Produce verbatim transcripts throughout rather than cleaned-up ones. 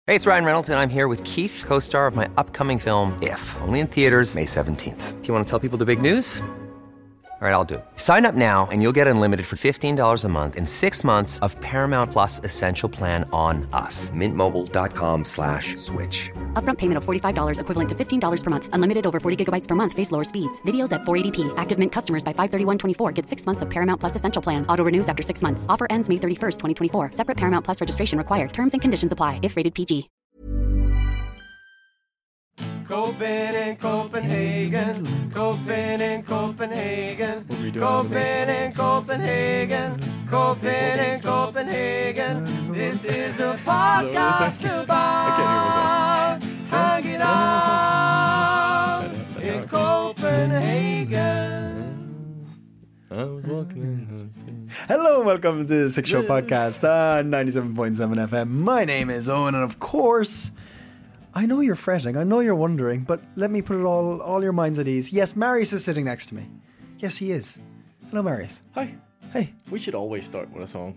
Hey, it's Ryan Reynolds, and I'm here with Keith, co-star of my upcoming film, If, only in theaters May seventeenth. Do you want to tell people the big news? All right, I'll do it. Sign up now and you'll get unlimited for fifteen dollars a month and six months of Paramount Plus Essential Plan on us. Mint Mobile dot com slash switch. Upfront payment of forty-five dollars equivalent to fifteen dollars per month. Unlimited over forty gigabytes per month. Face lower speeds. Videos at four eighty p. Active Mint customers by five thirty-one twenty-four get six months of Paramount Plus Essential Plan. Auto renews after six months. Offer ends May thirty-first, twenty twenty-four. Separate Paramount Plus registration required. Terms and conditions apply if rated P G. Copen in Copenhagen, Copen in Copenhagen, Copen in Copenhagen, Copen in Copenhagen. This is a podcast about hanging out in Copenhagen. I was walking. Hello, welcome to the Six Show Podcast on ninety-seven point seven F M. My name is Owen, and of course, I know you're fretting. I know you're wondering, but let me put it all, all your minds at ease. Yes, Marius is sitting next to me. Yes, he is. Hello, Marius. Hi. Hey. We should always start with a song.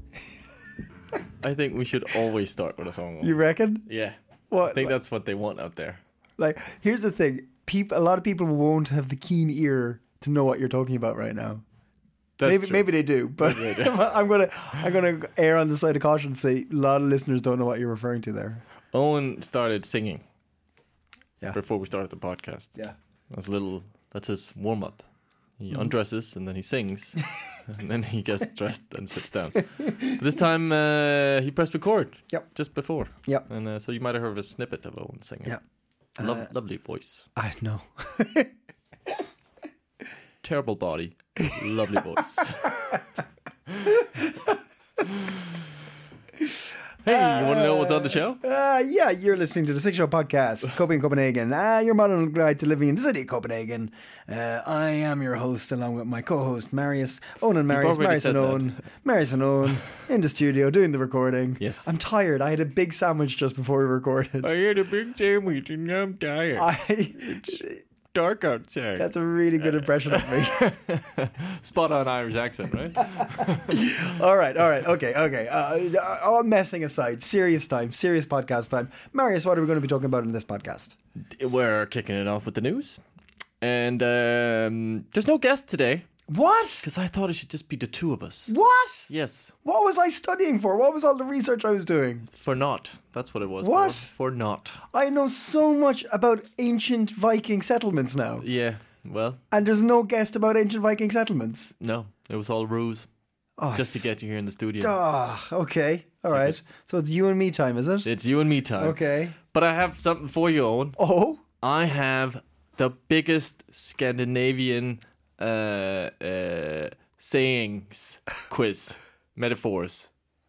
I think we should always start with a song. You reckon? Yeah. What? I think like, that's what they want out there. Like, here's the thing. People, a lot of people won't have the keen ear to know what you're talking about right now. That's maybe true. maybe they do, but Maybe they do. I'm gonna I'm gonna err on the side of caution and say a lot of listeners don't know what you're referring to there. Owen started singing. Yeah. Before we started the podcast. Yeah. That's a little. That's his warm up. He undresses and then he sings, and then he gets dressed and sits down. But this time uh, he pressed record. Yep. Just before. Yep. And uh, so you might have heard a snippet of Owen singing. Yeah. Lo- Uh, lovely voice. I know. Terrible body. Lovely voice. Hey, you want to know what's on the show? Uh, yeah, you're listening to the Six Show Podcast, Copenhagen, Copenhagen. Uh, your modern guide to living in the city of Copenhagen. Uh, I am your host, along with my co-host, Marius. Owen and Marius, already Marius and said that. Owen. Marius and Owen, in the studio, doing the recording. Yes. I'm tired. I had a big sandwich just before we recorded. I had a big sandwich and I'm tired. I... Dark outside. That's a really good impression of me. Spot on Irish accent, right? all right, all right, okay, okay. Uh, all messing aside, serious time, serious podcast time. Marius, what are we going to be talking about in this podcast? We're kicking it off with the news. And um, there's no guest today. What? Because I thought it should just be the two of us. What? Yes. What was I studying for? What was all the research I was doing? For not. That's what it was. What? For, for not. I know so much about ancient Viking settlements now. Yeah. Well, And there's no guest about ancient Viking settlements. no. It was all ruse. Oh, Just to get you here in the studio. Ah, okay. All right. So it's you and me time, is it? It's you and me time. Okay. But I have something for you, Owen. Oh? I have the biggest Scandinavian uh, uh, sayings quiz, metaphors.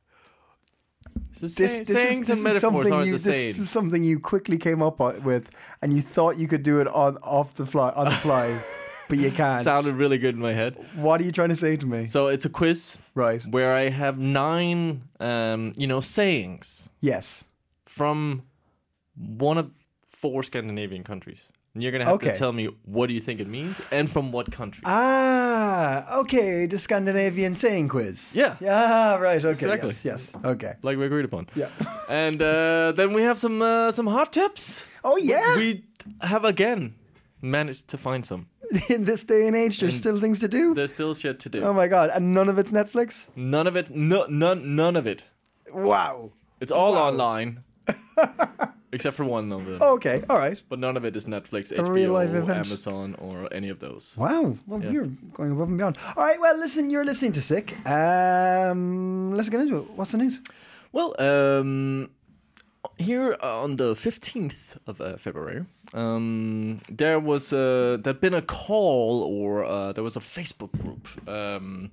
So say, This, this sayings is, this and is metaphors something aren't you, the same. This is something you quickly came up on- with, and you thought you could do it on off the fly, on the fly, but you can't. Sounded really good in my head. What are you trying to say to me? So it's a quiz, Right. where I have nine, um, you know, sayings Yes. from one of four Scandinavian countries. And you're gonna have Okay. to tell me what do you think it means and from what country. Ah, okay. The Scandinavian saying quiz. Yeah. Yeah. Right. Okay. Exactly. Yes. Yes. Okay. Like we agreed upon. Yeah. And uh, then we have some uh, some hot tips. Oh yeah. We have again managed to find some. In this day and age, there's And still things to do. There's still shit to do. Oh my god! And none of it's Netflix. None of it. No, none. None of it. Wow. It's all Wow. online, except for one of them. Okay. All right. But none of it is Netflix, A H B O, real life event. Amazon, or any of those. Wow. Well, Yeah. you're going above and beyond. All right. Well, listen. You're listening to Sick. Um, let's get into it. What's the news? Well, um, here on the fifteenth of uh, February, um, there was uh, there'd been a call, or uh, there was a Facebook group um,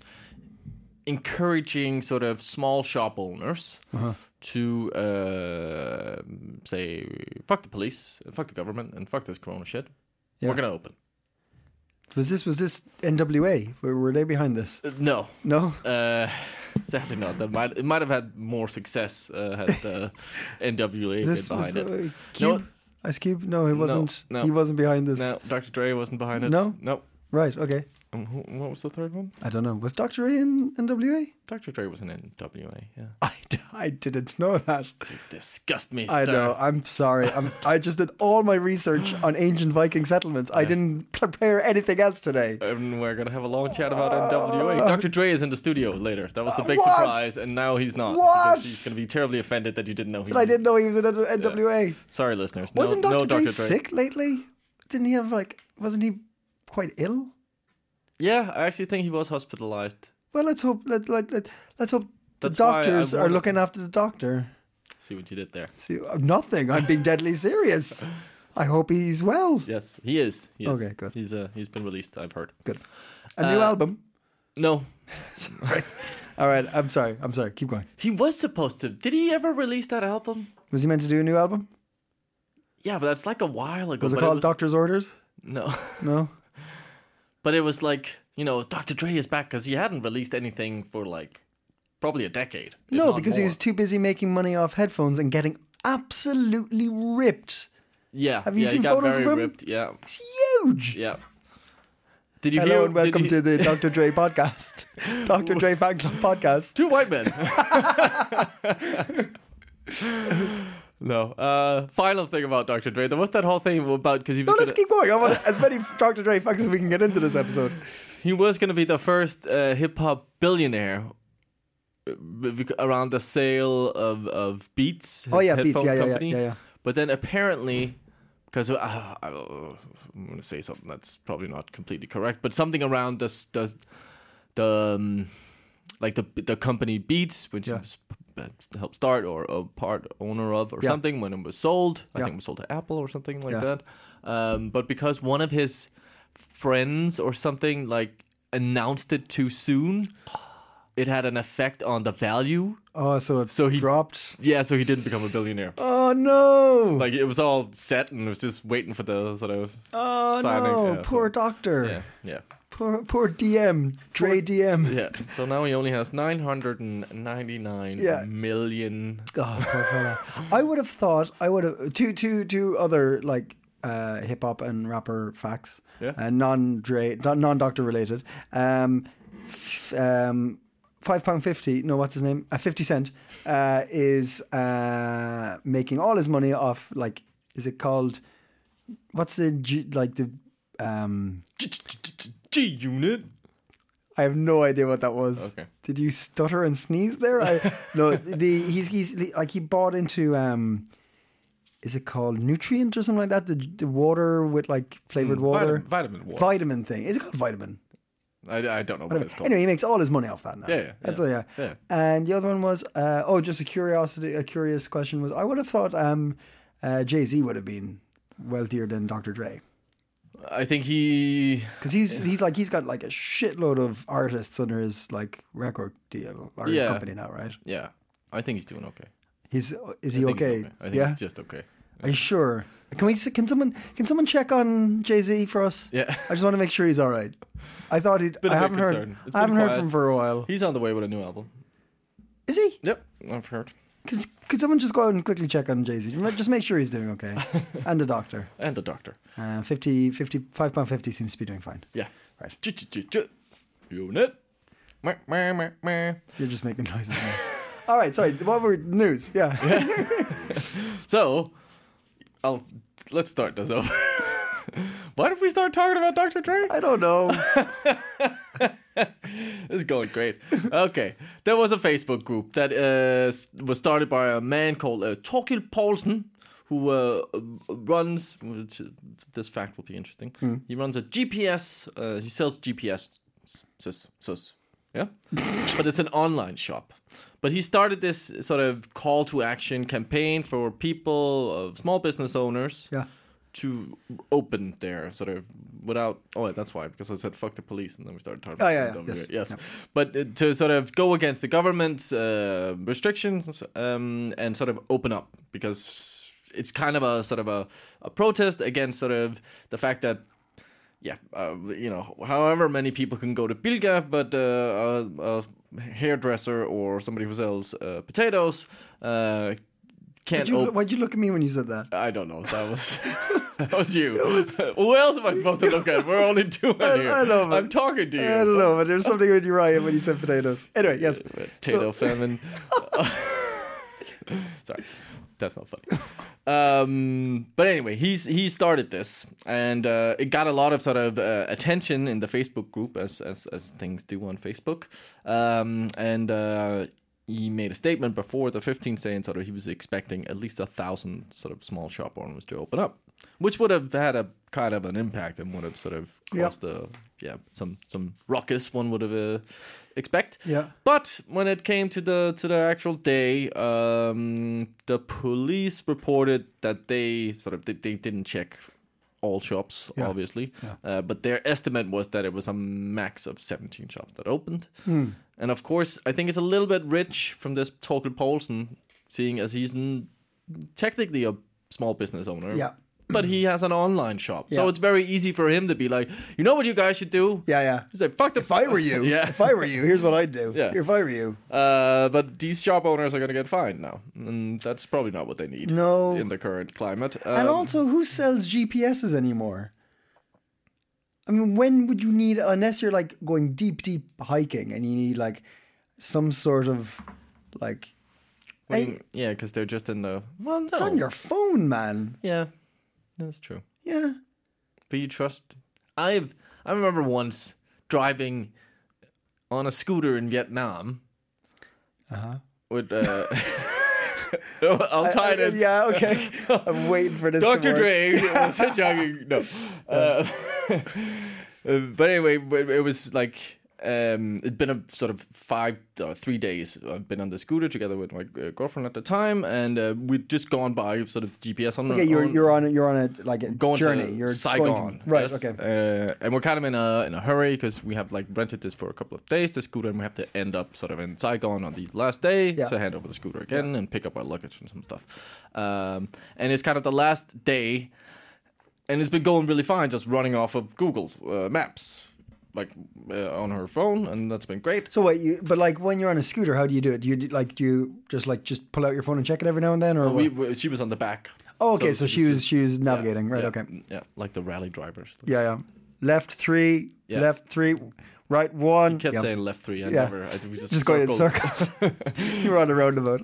encouraging sort of small shop owners Uh-huh. to uh, say fuck the police, fuck the government, and fuck this Corona shit. Yeah. We're gonna open. Was this was this N W A? Were, were they behind this? Uh, no. No. Uh, sadly not. That might it might have had more success uh, had the N W A been This behind was it. uh, Cube. No. Ice Cube? No, he wasn't. no. He wasn't behind this. No, Doctor Dre wasn't behind it. No? no. Right. Okay. Um, who, what was the third one? I don't know. Was Doctor Dre in N W A? Doctor Dre was in N W A, yeah. I, I didn't know that. You disgust me, I sir. know. I'm sorry. I'm, I just did all my research on ancient Viking settlements. I didn't prepare anything else today. And we're going to have a long chat about N W A. Doctor Dre is in the studio later. That was the big What? surprise, and now he's not. What? Because he's going to be terribly offended that you didn't know he But I didn't know he was in N W A. Yeah. Sorry, listeners. No, Wasn't no Doctor Dre Doctor Dre sick lately? Didn't he have, like, wasn't he quite ill? Yeah, I actually think he was hospitalized. Well, let's hope, let, let, let, let's hope the That's why I doctors are wanted- looking after the doctor. See what you did there. See, uh, nothing. I'm being deadly serious. I hope he's well. Yes, he is. He is. Okay, good. He's uh, he's been released, I've heard. Good. A new Uh, album. No, Right. All right. I'm sorry. I'm sorry. Keep going. he was supposed to. Did he ever release that album? Was he meant to do a new album? Yeah, but that's like a while ago. Was it but called was- Doctor's Orders? No, No. but it was like, you know, Doctor Dre is back because he hadn't released anything for like probably a decade. if No, not because he more. was too busy making money off headphones and getting absolutely ripped. Yeah, Have you yeah, seen he got photos very of him? ripped. Yeah, It's huge. yeah. Did you Hello hear? and welcome did to you- the Doctor Dre podcast. Doctor Dre Fan Club podcast. Two white men. No. Uh, final thing about Doctor Dre. There was that whole thing about because he was No, let's gonna, keep going. I want as many Doctor Dre facts as we can get into this episode. he was going to be the first uh, hip hop billionaire uh, bec- around the sale of of Beats. His Oh yeah, Beats. headphone Yeah, yeah, yeah, company. yeah, yeah. But then apparently, because uh, I, I'm going to say something that's probably not completely correct, but something around this the the um, like the the company Beats, which Yeah. was uh, helped start or a part owner of or Yeah. something when it was sold. I Yeah. think it was sold to Apple or something like Yeah. that. Um, but because one of his friends or something like announced it too soon, it had an effect on the value. Oh, so it So he- dropped. Yeah, so he didn't become a billionaire. Oh no! Like it was all set and it was just waiting for the sort of oh signing. no! Yeah, Poor so- doctor. yeah, yeah, Poor poor D M. Dre D M. yeah. So now he only has nine hundred and ninety-nine Yeah. million. Oh, poor fella. I would have thought I would have two two two other like uh, hip hop and rapper facts. Yeah. Uh, non Dre, non Doctor related. Um, f- um, five pound fifty. No, what's his name? Uh, Fifty Cent uh, is uh, making all his money off like. Is it called? What's the G, like the? Um, G Unit. I have no idea what that was. Okay. Did you stutter and sneeze there? I no. The he's he's like he bought into um, is it called Nutrient or something like that? The the water with like flavored water, Vitamin, vitamin water. vitamin thing. Is it called vitamin? I, I don't know what it's called. Anyway, he makes all his money off that now. Yeah, yeah, That's yeah. all. Yeah. Yeah. And the other one was uh, oh, just a curiosity, a curious question was I would have thought um, uh, Jay Z would have been wealthier than Doctor Dre. I think he. Because he's he's like he's got like a shitload of artists under his like record deal or his Yeah. company now, right? Yeah, I think he's doing okay. He's is I he think he's okay? I think Yeah. he's just okay. Are you sure? Can we? Can someone? Can someone check on Jay Z for us? Yeah. I just want to make sure he's all right. I thought he'd. Been I a bit haven't heard. concerned. It's I haven't been heard quiet. from him for a while. He's on the way with a new album. Is he? Yep, I've heard. Could, could someone just go out and quickly check on Jay Z? Just make sure he's doing okay. And the doctor. And the Doctor. Uh, fifty, fifty, five pound fifty seems to be doing fine. Yeah. Right. J- j- j- j- Unit. Meh, meh, meh, meh. You're just making noises now. All right, sorry. What were news? Yeah. So, I'll let's start this over. Why did we start talking about Doctor Dre? I don't know. This is going great. Okay, there was a Facebook group that uh, s- was started by a man called uh, Torkild Poulsen, who uh, runs. Which, uh, this fact will be interesting. He runs a G P S. Uh, he sells G P S. Sus, sus, yeah, but it's an online shop. But he started this sort of call to action campaign for people, uh, small business owners, Yeah. to open their sort of without. Oh, that's why, because I said fuck the police, and then we started talking. Oh, about yeah, W yeah, W A. yes, yes. But uh, to sort of go against the government's uh, restrictions um, and sort of open up, because it's kind of a sort of a, a protest against sort of the fact that. Yeah, uh, you know, however many people can go to Bilga, but uh, a, a hairdresser or somebody who sells uh, potatoes uh, can't. Why'd you, op- why'd you look at me when you said that? I don't know. That was that was you. Who else am I supposed to look at? We're only two in I, here. I know, but, I'm talking to you. I don't know, but there's something in your eye when you said potatoes. Anyway, yes. Potato So- famine. Sorry, that's not funny. Um, but anyway, he's he started this, and uh, it got a lot of sort of uh, attention in the Facebook group, as as as things do on Facebook. Um, and uh, he made a statement before the fifteenth, saying sort of he was expecting at least a thousand sort of small shop owners to open up, which would have had a kind of an impact and would have sort of caused a yeah some some ruckus. One would have uh, expect. Yeah. But when it came to the to the actual day, um, the police reported that they sort of they, they didn't check all shops, Yeah. obviously, Yeah. uh, but their estimate was that it was a max of seventeen shops that opened. Hmm. And of course, I think it's a little bit rich from this Torkel Poulsen, seeing as he's n- technically a small business owner. Yeah. But he has an online shop, so Yeah. it's very easy for him to be like, you know what you guys should do? Yeah, yeah. He's like, fuck the. If I were you, yeah. if I were you, here's what I'd do. Yeah. If I were you. Uh, but these shop owners are going to get fined now, and that's probably not what they need. No. In the current climate. Um, And also, who sells G P S's anymore? I mean, when would you need, unless you're like going deep, deep hiking and you need like some sort of like. when- Hey, yeah, because they're just in the. Well, no. it's on your phone, man. Yeah, that's true. Yeah. But you trust. I've. I remember once driving on a scooter in Vietnam. Uh huh. With. Uh, I'll tie it in. Yeah, okay. I'm waiting for this. Doctor to work. Dre was hitchhiking. No. Uh, uh, but anyway, it was like um, it'd been a sort of five or three days. I've been on the scooter together with my uh, girlfriend at the time, and uh, we'd just gone by sort of the G P S on. Okay, you're on, you're on a, you're on a like a going journey. to you're Saigon, going to, right? yes. Okay. Uh, and we're kind of in a in a hurry because we have like rented this for a couple of days, the scooter, and we have to end up sort of in Saigon on the last day Yeah. to hand over the scooter again and pick up our luggage and some stuff. Um, and it's kind of the last day, and it's been going really fine, just running off of Google uh, Maps, like uh, on her phone, and that's been great. So wait, you but like when you're on a scooter, how do you do it? Do you do- like do you just like just pull out your phone and check it every now and then, or We, what? we, she was on the back. Oh, okay. So, she was she was navigating, yeah, right? yeah, Okay. Yeah, like the rally drivers. Yeah, yeah. Left three, Yeah. left three, right one. He kept Yep. saying left three. I Yeah. never. I, we just, Just going in circled. circles. You were on a roundabout.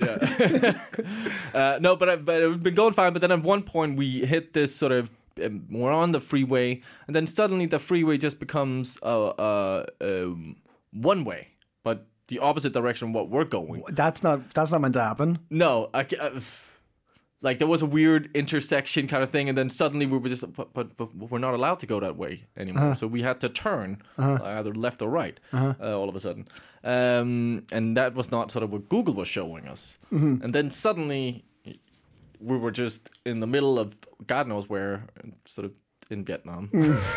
Uh, no, but I, but it's been going fine. But then at one point we hit this sort of um, we're on the freeway, and then suddenly the freeway just becomes uh, uh, um, one way, but the opposite direction of what we're going. That's not that's not meant to happen. No, I, ca- uh, like there was a weird intersection kind of thing, and then suddenly we were just, but, but, but we're not allowed to go that way anymore. Uh-huh. So we had to turn uh, either left or right uh, all of a sudden, um, and that was not sort of what Google was showing us. Mm-hmm. And then suddenly we were just in the middle of God knows where, sort of in Vietnam.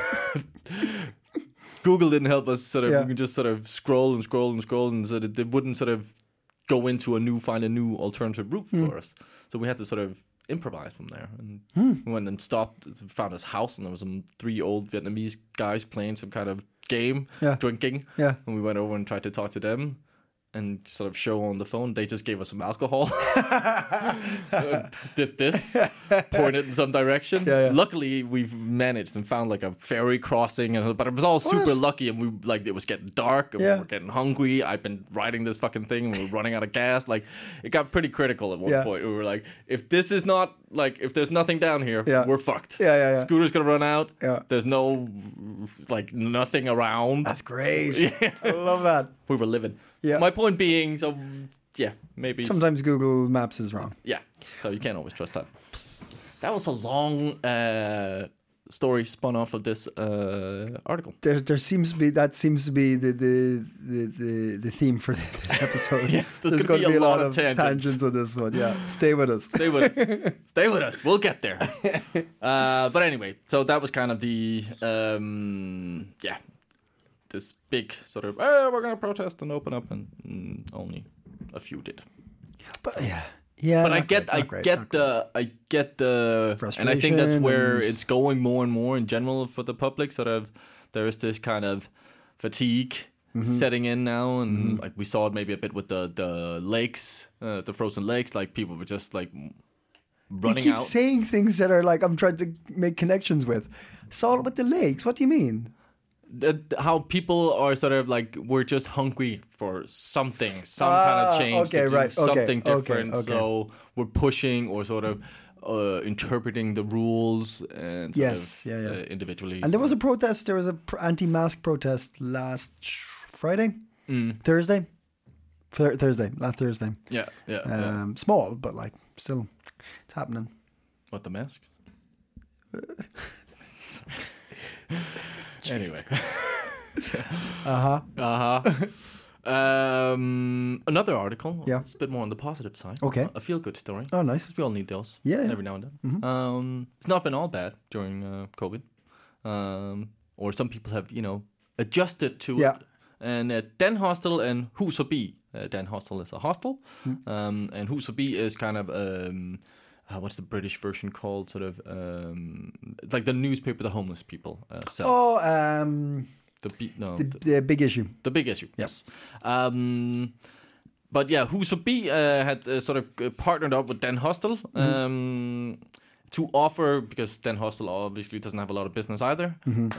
Google didn't help us. Sort of, Yeah. we could just sort of scroll and scroll and scroll, and so that they wouldn't sort of go into a new, find a new alternative route for us. So we had to sort of improvise from there. And we went and stopped, found this house, and there was some three old Vietnamese guys playing some kind of game, Yeah. drinking. Yeah. And we went over and tried to talk to them and sort of show on the phone. They just gave us some alcohol. Uh, did this, pointed in some direction. Yeah, yeah. Luckily, we've managed and found like a ferry crossing, and but it was all super lucky. And we like it was getting dark, and Yeah. we were getting hungry. I've been riding this fucking thing, and we were running out of gas. Like it got pretty critical at one Yeah. point. We were like, if this is not like if there's nothing down here, Yeah. we're fucked. Yeah, yeah, yeah. Scooter's gonna run out. Yeah. There's no like nothing around. That's great. Yeah. I love that. We were living. Yeah. My point being, so yeah, maybe. Sometimes Google Maps is wrong. Yeah. So you can't always trust that. That was a long uh, story spun off of this uh, article. There, there seems to be that seems to be the the the, the, the theme for this episode. Yes, there's there's gonna going to be be a a lot, lot of of tangents. tangents on this one. Yeah, stay with us. Stay with us. Stay with us. We'll get there. Uh, but anyway, so that was kind of the um, yeah, this big sort of oh, we're gonna protest and open up, and mm, only a few did. But yeah, yeah. But I not get, great, I not great, get not great. the, I get the, and I think that's Frustration where and- it's going more and more in general for the public. Sort of, there is this kind of fatigue Mm-hmm. setting in now, and like we saw it maybe a bit with the the lakes, uh, the frozen lakes. Like people were just like running you keep out. saying things that are like I'm trying to make connections with. Salt with the legs. What do you mean? That how people are sort of like we're just hungry for something, some Ah, kind of change, okay, to do right, okay, something okay, different. okay. So we're pushing or sort of uh, interpreting the rules and sort Yes, of, yeah, yeah. Uh, individually. And there was so- a protest. There was a pr- anti-mask protest last Friday, Mm. Thursday, Thur- Thursday, last Thursday. yeah, yeah, yeah. Um, Small, but like still, it's happening. What, the masks? Anyway. Uh huh. Uh huh. Um, another article. Yeah. It's a bit more on the positive side. Okay. A feel-good story. Oh, nice. We all need those. Yeah, yeah. Every now and then. Um, it's not been all bad during uh, COVID. Um, or some people have, you know, adjusted to Yeah. it. And uh, Den Hostel and Hus Forbi. Uh, Den Hostel is a hostel. Um, and Hus Forbi is kind of, um, uh, what's the British version called? Sort of, um, like the newspaper the homeless people uh, sell. Oh, um, The, be- no, the, the, the big issue. the big issue, yes. Um, but yeah, Hus Forbi uh, had uh, sort of uh, partnered up with Den Hostel um, to offer, because Den Hostel obviously doesn't have a lot of business either.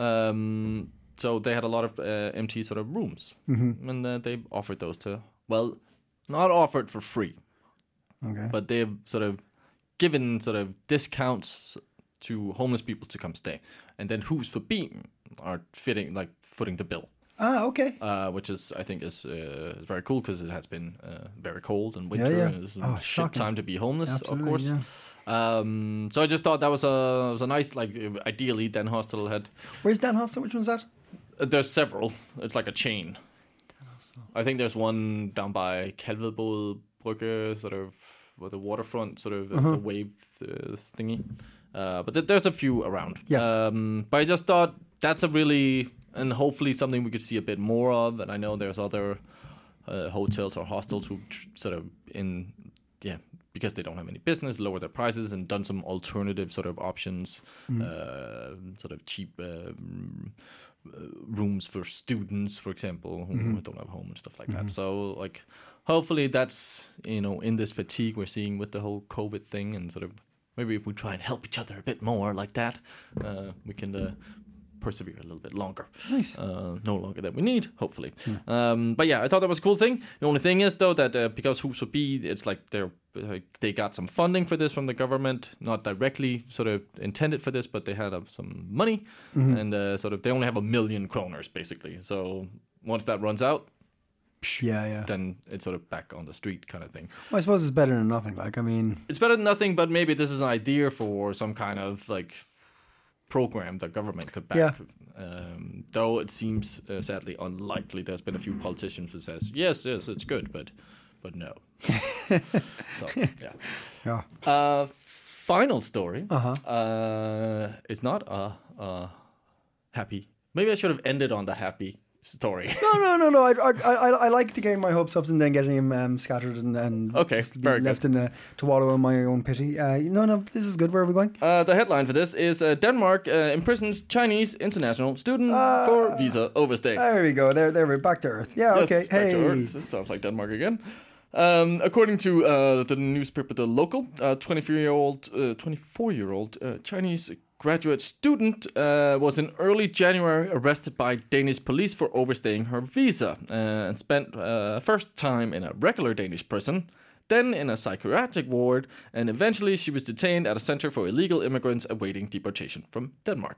Um, so they had a lot of uh, empty sort of rooms. And uh, they offered those to, well, not offered for free, Okay. but they've sort of given sort of discounts to homeless people to come stay. And then Hus Forbi are fitting, like, footing the bill. Ah, okay. Uh, which is, I think, is uh, very cool because it has been uh, very cold and winter, Yeah, yeah. and it's a Oh, shit shocking. time to be homeless, Absolutely, of course. yeah. Um, so I just thought that was a was a nice, like, uh, ideally, Den Hostel had. Where's Dan Hostel? Which one's that? Uh, there's several. It's like a chain. I think there's one down by Kalvebod Brygge, sort of, with the waterfront, sort of uh, the wave uh, thingy. Uh, but th- there's a few around. Yeah. Um, but I just thought that's a really, and hopefully something we could see a bit more of. And I know there's other uh, hotels or hostels who tr- sort of in, yeah, because they don't have any business, lower their prices and done some alternative sort of options, uh, sort of cheap uh, mm, uh, rooms for students, for example, who don't have home and stuff like that. So, like, hopefully that's, you know, in this fatigue we're seeing with the whole COVID thing, and sort of maybe if we try and help each other a bit more like that, uh, we can uh, persevere a little bit longer. Nice. Uh, no longer than we need, hopefully. Um, but yeah, I thought that was a cool thing. The only thing is, though, that uh, because Hus Forbi, it's like they're uh, they got some funding for this from the government, not directly sort of intended for this, but they had uh, some money, and uh, sort of they only have a million kroners basically. So once that runs out, Yeah, yeah. then it's sort of back on the street kind of thing. Well, I suppose it's better than nothing. Like, I mean, It's better than nothing, but maybe this is an idea for some kind of like program the government could back. Yeah. Um, though it seems uh, sadly unlikely. There's been a few politicians who says yes, yes, it's good, but but no. So yeah. yeah. Uh, final story. Uh-huh. Uh, it's not a, a happy. Maybe I should have ended on the happy story. No, no, no, no. I, I, I, I like to gain my hopes up and then getting him um, scattered and, and Okay, just be very good. left in a, to wallow in my own pity. Uh, no, no, this is good. Where are we going? Uh, the headline for this is uh, Denmark uh, imprisons Chinese international student for visa overstay. There we go. There, there we're back to earth. Yeah. Yes, Okay. back Hey. to Earth. This sounds like Denmark again. Um, according to uh, the newspaper The Local, a twenty-four-year-old, uh, twenty-four-year-old uh, Chinese graduate student uh, was in early January arrested by Danish police for overstaying her visa uh, and spent uh, first time in a regular Danish prison, then in a psychiatric ward, and eventually she was detained at a center for illegal immigrants awaiting deportation from Denmark.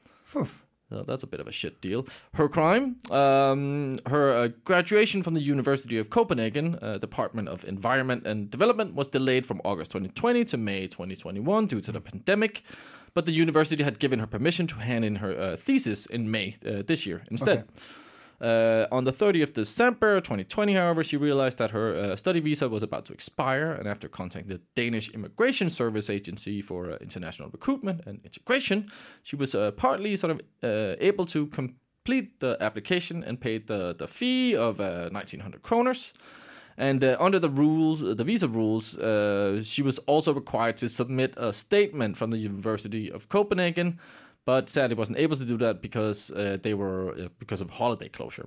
So that's a bit of a shit deal. Her crime, um, her uh, graduation from the University of Copenhagen, uh, Department of Environment and Development, was delayed from August twenty twenty to May twenty twenty-one due to the pandemic. But the university had given her permission to hand in her uh, thesis in May uh, this year instead. Okay. Uh, on the thirtieth of December twenty twenty, however, she realized that her uh, study visa was about to expire, and after contacting the Danish Immigration Service Agency for uh, International Recruitment and Integration, she was uh, partly sort of uh, able to complete the application and paid the, the fee of uh, nineteen hundred kroners. And uh, under the rules, the visa rules, uh, she was also required to submit a statement from the University of Copenhagen, but sadly wasn't able to do that because uh, they were uh, because of holiday closure.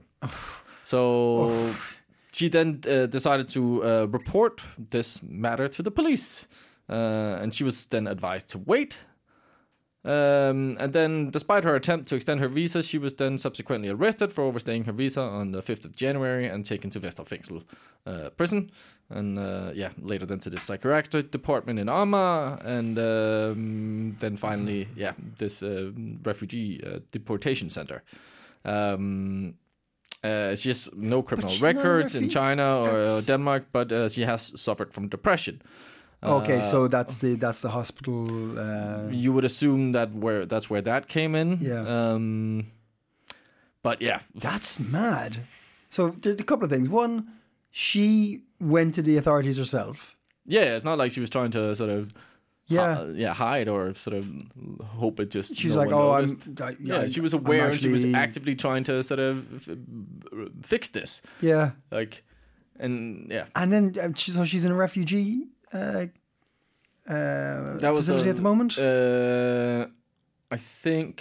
So she then uh, decided to uh, report this matter to the police, uh, and she was then advised to wait. Um, and then, despite her attempt to extend her visa, she was then subsequently arrested for overstaying her visa on the fifth of January and taken to Vesterfængsel uh, prison. And uh, yeah, later then to the psychiatric department in Amager, and um, then finally, yeah, this uh, refugee uh, deportation center. Um, uh, she has no criminal records in China or uh, Denmark, but uh, she has suffered from depression. Okay, Uh, so that's the that's the hospital. Uh, you would assume that where that's where that came in. Yeah. Um, but yeah, that's mad. So there's a couple of things. One, she went to the authorities herself. yeah, it's not like she was trying to sort of Yeah. hi- yeah hide or sort of hope it just. She's no like, one oh, noticed. I'm. I, Yeah, I, she was I'm aware and she was actually- actively trying to sort of f- fix this. Yeah, Like, and yeah, and then um, she, so she's in a refugee uh, uh, that was facility a- at the moment. Uh, I think.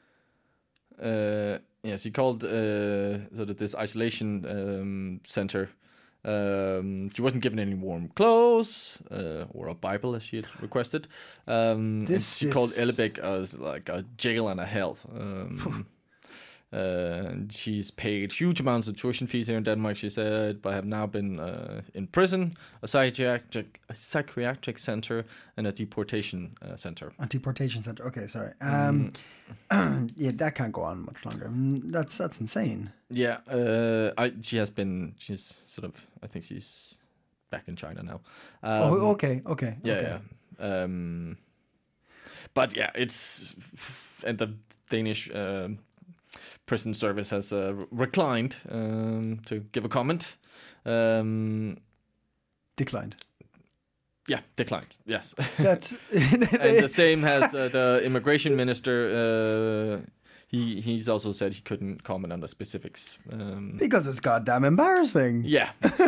Uh, yeah, she called uh, sort of this isolation um, center. Um, she wasn't given any warm clothes uh, or a Bible as she had requested. Um, and This she is- called Ellebæk as like a jail and a hell. Um, uh, and she's paid huge amounts of tuition fees here in Denmark, she said, but have now been uh, in prison, a psychiatric, a psychiatric center, and a deportation uh, center. A deportation center. Okay, sorry. Um, Mm. yeah, that can't go on much longer. Mm, That's that's insane. Yeah, uh, I she has been. She's sort of. I think she's back in China now. Um, oh, okay, okay, Yeah, okay. yeah. Um, but yeah, it's and the Danish uh, prison service has uh, reclined um, to give a comment. Um, Declined. yeah, declined. Yes, That's and the same has uh, the immigration minister. Uh, he he's also said he couldn't comment on the specifics. Um, because it's goddamn embarrassing. Yeah,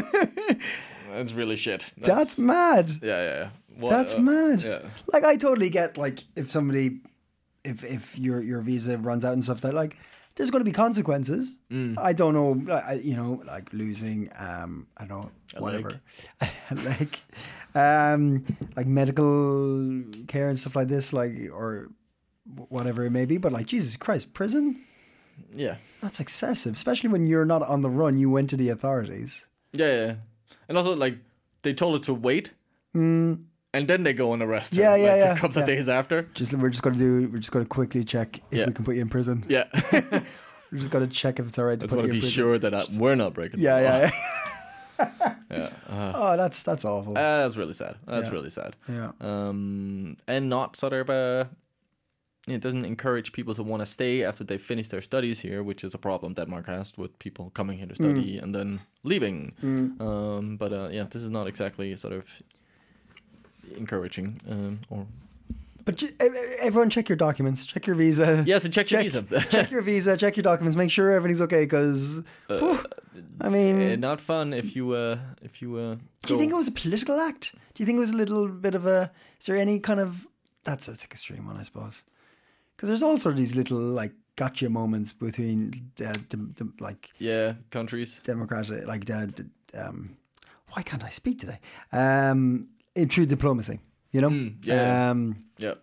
that's really shit. That's mad. Yeah, yeah. yeah. What, That's uh, mad. Yeah, Like I totally get like if somebody, if if your your visa runs out and stuff that like there's going to be consequences. Mm. I don't know, I, you know, like losing, um, I don't know, A whatever, leg. like, um, like medical care and stuff like this, like or whatever it may be. But like Jesus Christ, prison. yeah, That's excessive, especially when you're not on the run. You went to the authorities. yeah, yeah. And also, like, they told her to wait, and then they go and arrest her. Yeah, yeah, like, yeah, A couple of yeah. days after. Just we're just gonna do. We're just gonna quickly check if Yeah. we can put you in prison. Yeah, We're just gonna check if it's all right to just put want you to in be prison. sure that I, we're not breaking. Yeah, the law. yeah, yeah. yeah. Uh, Oh, that's that's awful. uh, that's really sad. That's Yeah. really sad. yeah. Um, and not sort of uh it doesn't encourage people to want to stay after they finish their studies here, which is a problem Denmark has with people coming here to study and then leaving. Um, but uh, yeah, this is not exactly sort of encouraging. Um, or But ju- e- e- everyone, check your documents. Check your visa. yeah, so check your check, visa. check your visa. Check your documents. Make sure everything's okay. Because, I mean, Uh, not fun if you uh if you uh. do you go- think it was a political act? Do you think it was a little bit of a? Is there any kind of? That's a like, extreme one, I suppose. Because there's all sort of these little like gotcha moments between uh, dem- dem- like yeah countries? democratic, like the, the, um, why can't I speak today? Um, in true diplomacy, you know. Mm, yeah. Um, Yeah.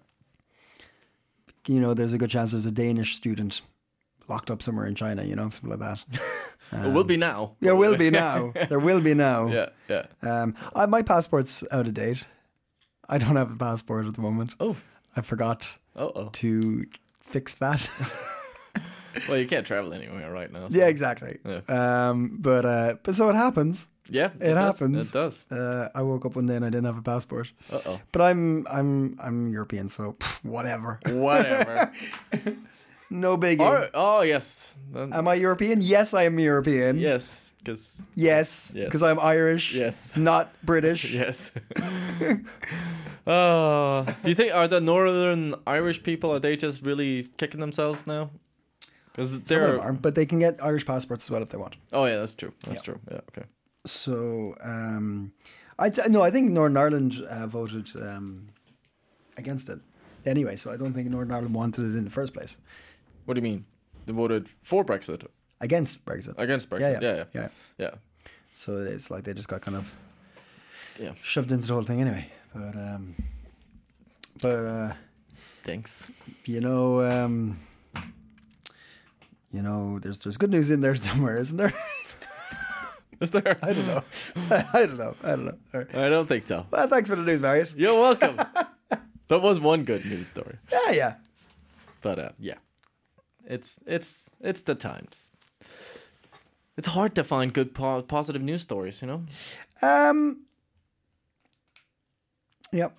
you know, there's a good chance there's a Danish student locked up somewhere in China, you know, something like that. it will be now. There will be now. There will be now. Yeah, yeah. Um, I, my passport's out of date. I don't have a passport at the moment. Oh, I forgot oh, oh. to fix that. Well, you can't travel anywhere right now. So. Yeah, exactly. Yeah. Um, but uh, but so it happens. Yeah, It, does. happens. It does. Uh, I woke up one day and I didn't have a passport. Uh oh. But I'm I'm I'm European, so pff, whatever. Whatever. No biggie. Or, oh yes. Then- Am I European? Yes, I am European. yes, because Yes, Yes. because I'm Irish. Yes. Not British. yes. Oh, do you think are the Northern Irish people are they just really kicking themselves now? Because Some of they're them aren't, but they can get Irish passports as well if they want. oh yeah, that's true. That's Yeah. true. Yeah, okay. So, um, I th- no, I think Northern Ireland uh, voted um, against it anyway. So I don't think Northern Ireland wanted it in the first place. What do you mean? They voted for Brexit Against Brexit. against Brexit. Yeah, yeah, yeah, yeah. yeah. yeah. So it's like they just got kind of Yeah. shoved into the whole thing anyway. But um, but uh, Thanks. you know, um, you know, there's there's good news in there somewhere, isn't there? Is there? I don't know. I don't know. I don't know. All right. I don't think so. Well, thanks for the news, Marius. You're welcome. That was one good news story. Yeah, yeah. But uh, yeah, it's it's it's the times. It's hard to find good po- positive news stories, you know. Um. Yep.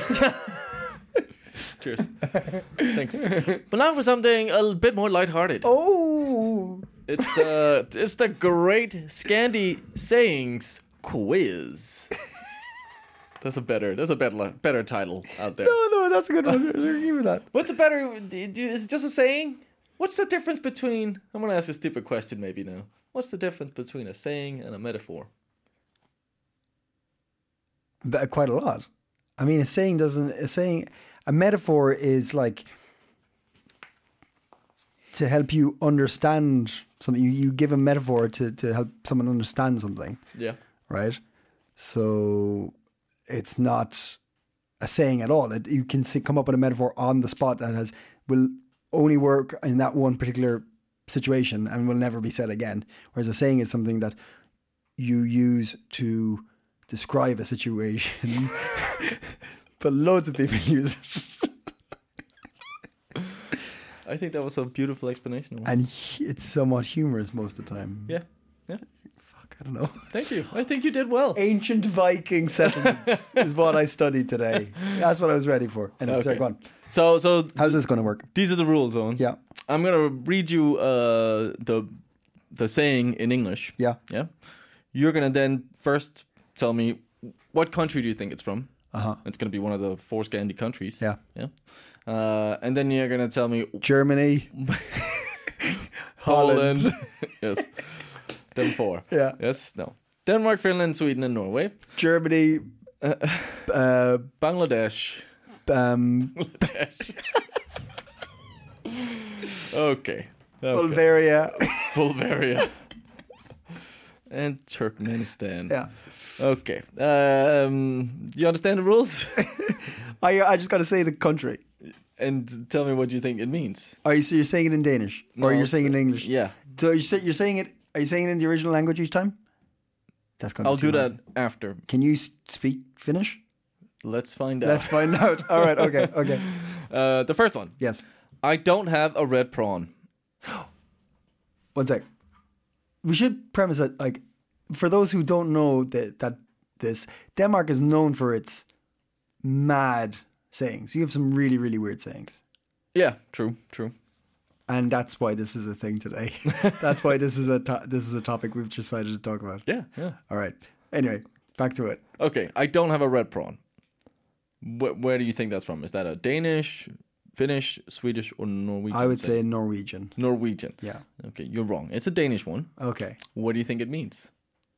Cheers. Thanks. But now for something a bit more lighthearted. Oh. It's the it's the Great Scandi Sayings Quiz. That's a better that's a better better title out there. No, no, that's a good one. Give me that. What's a better? Is it just a saying? What's the difference between? I'm gonna ask a stupid question maybe now. What's the difference between a saying and a metaphor? But quite a lot. I mean, a saying doesn't. A saying, a metaphor is like to help you understand something. You, you give a metaphor to to help someone understand something, Yeah. right? So it's not a saying at all. It, you can see, come up with a metaphor on the spot that has will only work in that one particular situation and will never be said again. Whereas a saying is something that you use to describe a situation, but loads of people use it. I think that was a beautiful explanation. And hu- it's somewhat humorous most of the time. Yeah. Yeah. Fuck, I don't know. Thank you. I think you did well. Ancient Viking settlements is what I studied today. That's what I was ready for. Anyway, sorry, Okay. go on. So so How's this going to work? these are the rules, Owen. Yeah. I'm gonna read you uh, the the saying in English. Yeah. Yeah. You're gonna then first tell me what country do you think it's from. Uh-huh. It's gonna be one of the four Scandi countries. Yeah. Yeah. Uh, and then you're gonna tell me Germany. Holland. Yes. Then four. Yeah. Yes. No. Denmark, Finland, Sweden, and Norway. Germany. Uh, Bangladesh. um, Okay. Okay. Bulgaria. Bulgaria. And Turkmenistan. Yeah. Okay. Um, do you understand the rules? I I just got to say the country. And tell me what you think it means. Are you so you're saying it in Danish or No, you're saying it in English? Yeah. So you say you're saying it. Are you saying it in the original language each time? That's going. I'll do that after. Can you s- speak Finnish? Let's find out. Let's find out. All right. Okay. Okay. Uh, the first one. Yes. I don't have a red prawn. One sec. We should premise that, like, for those who don't know that that this Denmark is known for its mad sayings. You have some really, really weird sayings, Yeah, true, true. and that's why this is a thing today. That's why this is a to- this is a topic we've decided to talk about. Yeah, yeah. All right. Anyway, back to it. Okay, I don't have a red prawn. Wh- where do you think that's from? Is that a Danish, Finnish, Swedish, or Norwegian? I would saying? say Norwegian. Norwegian. Yeah. Okay, you're wrong. It's a Danish one. Okay. What do you think it means?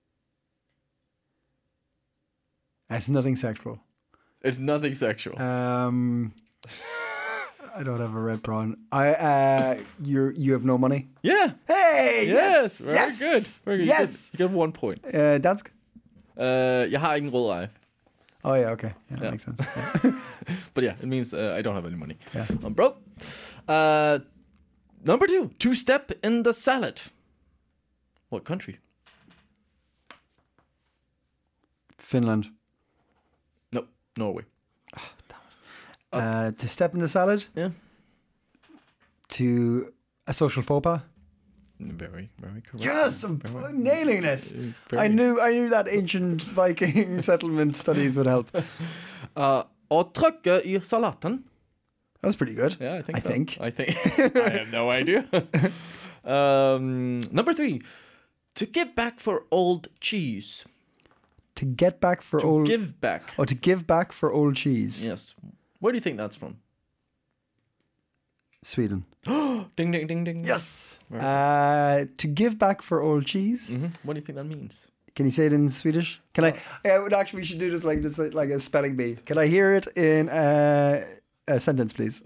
It's nothing sexual. It's nothing sexual. Um, I don't have a red prawn. I uh, you you have no money. yeah. Hey. Yes. Very yes. good. Very good. Yes. You get one point. Uh, dansk. Uh, jeg har ingen rød eye. Oh yeah. Okay. Yeah, Yeah. makes sense. Yeah. But yeah, it means uh, I don't have any money. Yeah. I'm broke. Uh, number two, to step in the salad. What country? Finland. No, Norway. Uh, to step in the salad. Yeah. To a social faux pas. Very, very correct. Yes, I'm Very- nailing this. very- I knew I knew that ancient Viking settlement studies would help. That Uh, å trykke i salaten. was pretty good. Yeah, I think I so. think. I think. I have no idea. um, number three, to give back for old cheese. To get back for To old. give back. Oh, to give back for old cheese. Yes. Where do you think that's from? Sweden. Ding, ding, ding, ding. Yes. Very Uh, to give back for old cheese. hmm What do you think that means? Can you say it in Swedish? Can I? I would actually. We should do this like this, like a spelling bee. Can I hear it in uh, a sentence, please?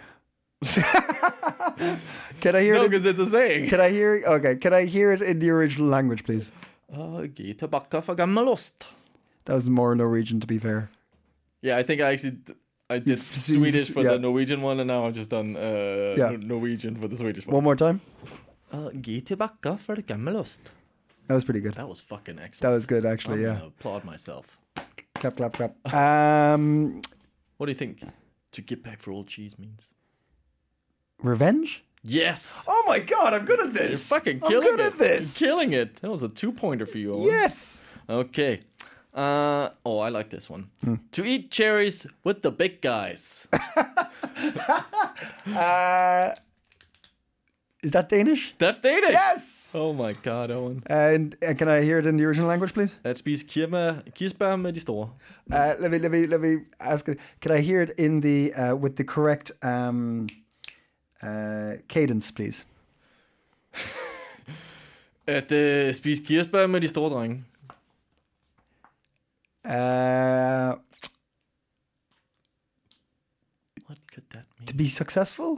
Can I hear No, it? In, because it's a saying. can I hear? Okay. Can I hear it in the original language, please? Uh, Gi tilbake for gammel ost. That was more Norwegian, to be fair. Yeah, I think I actually d- I did You've seen- Swedish for yeah. the Norwegian one, and now I've just done uh, Yeah. Nor- Norwegian for the Swedish one. One more time. Uh, Gi tillbaka för gammelost. That was pretty good. That was fucking excellent. That was good, actually. I'm Yeah. gonna applaud myself. Clap, clap, clap. Um, What do you think? To get back for old cheese means. revenge. Yes. Oh my god, I'm good at You're this. fucking I'm killing good it. at this. You're killing it. That was a two-pointer for you. Owen. Yes. Okay. Uh, oh, I like this one. To eat cherries with the big guys. Uh, is that Danish? That's Danish. Yes. Oh my god, Owen. And uh, can I hear it in the original language, please? At spise kirma, kirsebær med de store. Uh, let me let me let me ask it. Can I hear it in the uh, with the correct um, uh, cadence, please? At uh, spise kirsebær med de store drenge. Uh, What could that mean? to be successful.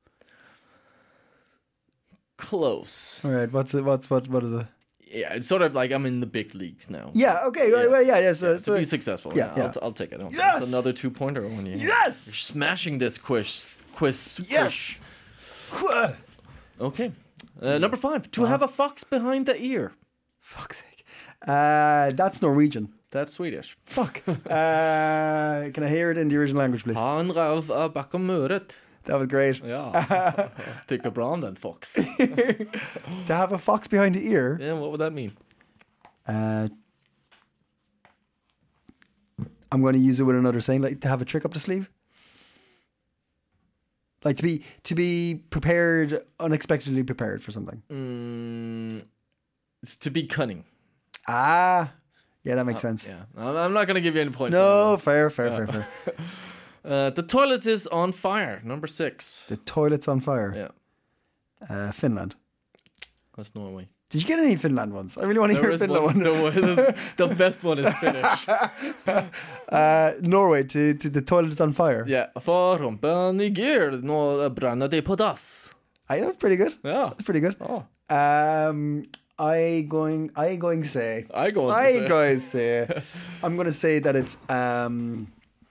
Close. All right. What's it? What's what? What is it? Yeah, it's sort of like I'm in the big leagues now. Yeah. Okay. Yeah. Yeah. Well, yeah. Yeah. So, Yeah, so to be successful. yeah, Yeah, yeah. I'll, t- I'll take it. I'll Yes! It's another two pointer when you. Yes! You're smashing this quiz. Quiz. Yes! quiz. Okay. Uh, number five. To have a fox behind the ear. Fuck's sake. Uh, that's Norwegian. That's Swedish. Fuck. uh, can I hear it in the original language, please? Ha en ræv av bakom øret. That was great. Ja. Tycker bra om den fox. To have a fox behind the ear. Yeah, what would that mean? Uh, I'm going to use it with another saying, like to have a trick up the sleeve. Like to be to be prepared, unexpectedly prepared for something. Mm, it's to be cunning. Ah, yeah, that makes sense. Yeah. I'm I'm not going to give you any points. No, fair, fair, fair, fair. Uh, the toilet is on fire. Number six. The toilet's on fire. Yeah, Uh, Finland. that's Norway. Did you get any Finland ones? I really want to There hear a is Finland one. one. There was, the best one is Finnish. Uh, Norway to, to the toilet is on fire. Yeah. For rumpan i gear, nå brenner det på dass. I know, it's pretty good. Ja. That's pretty good. Oh. Um, I going, I going say, I go on to I say. going say, I'm going to say that it's um.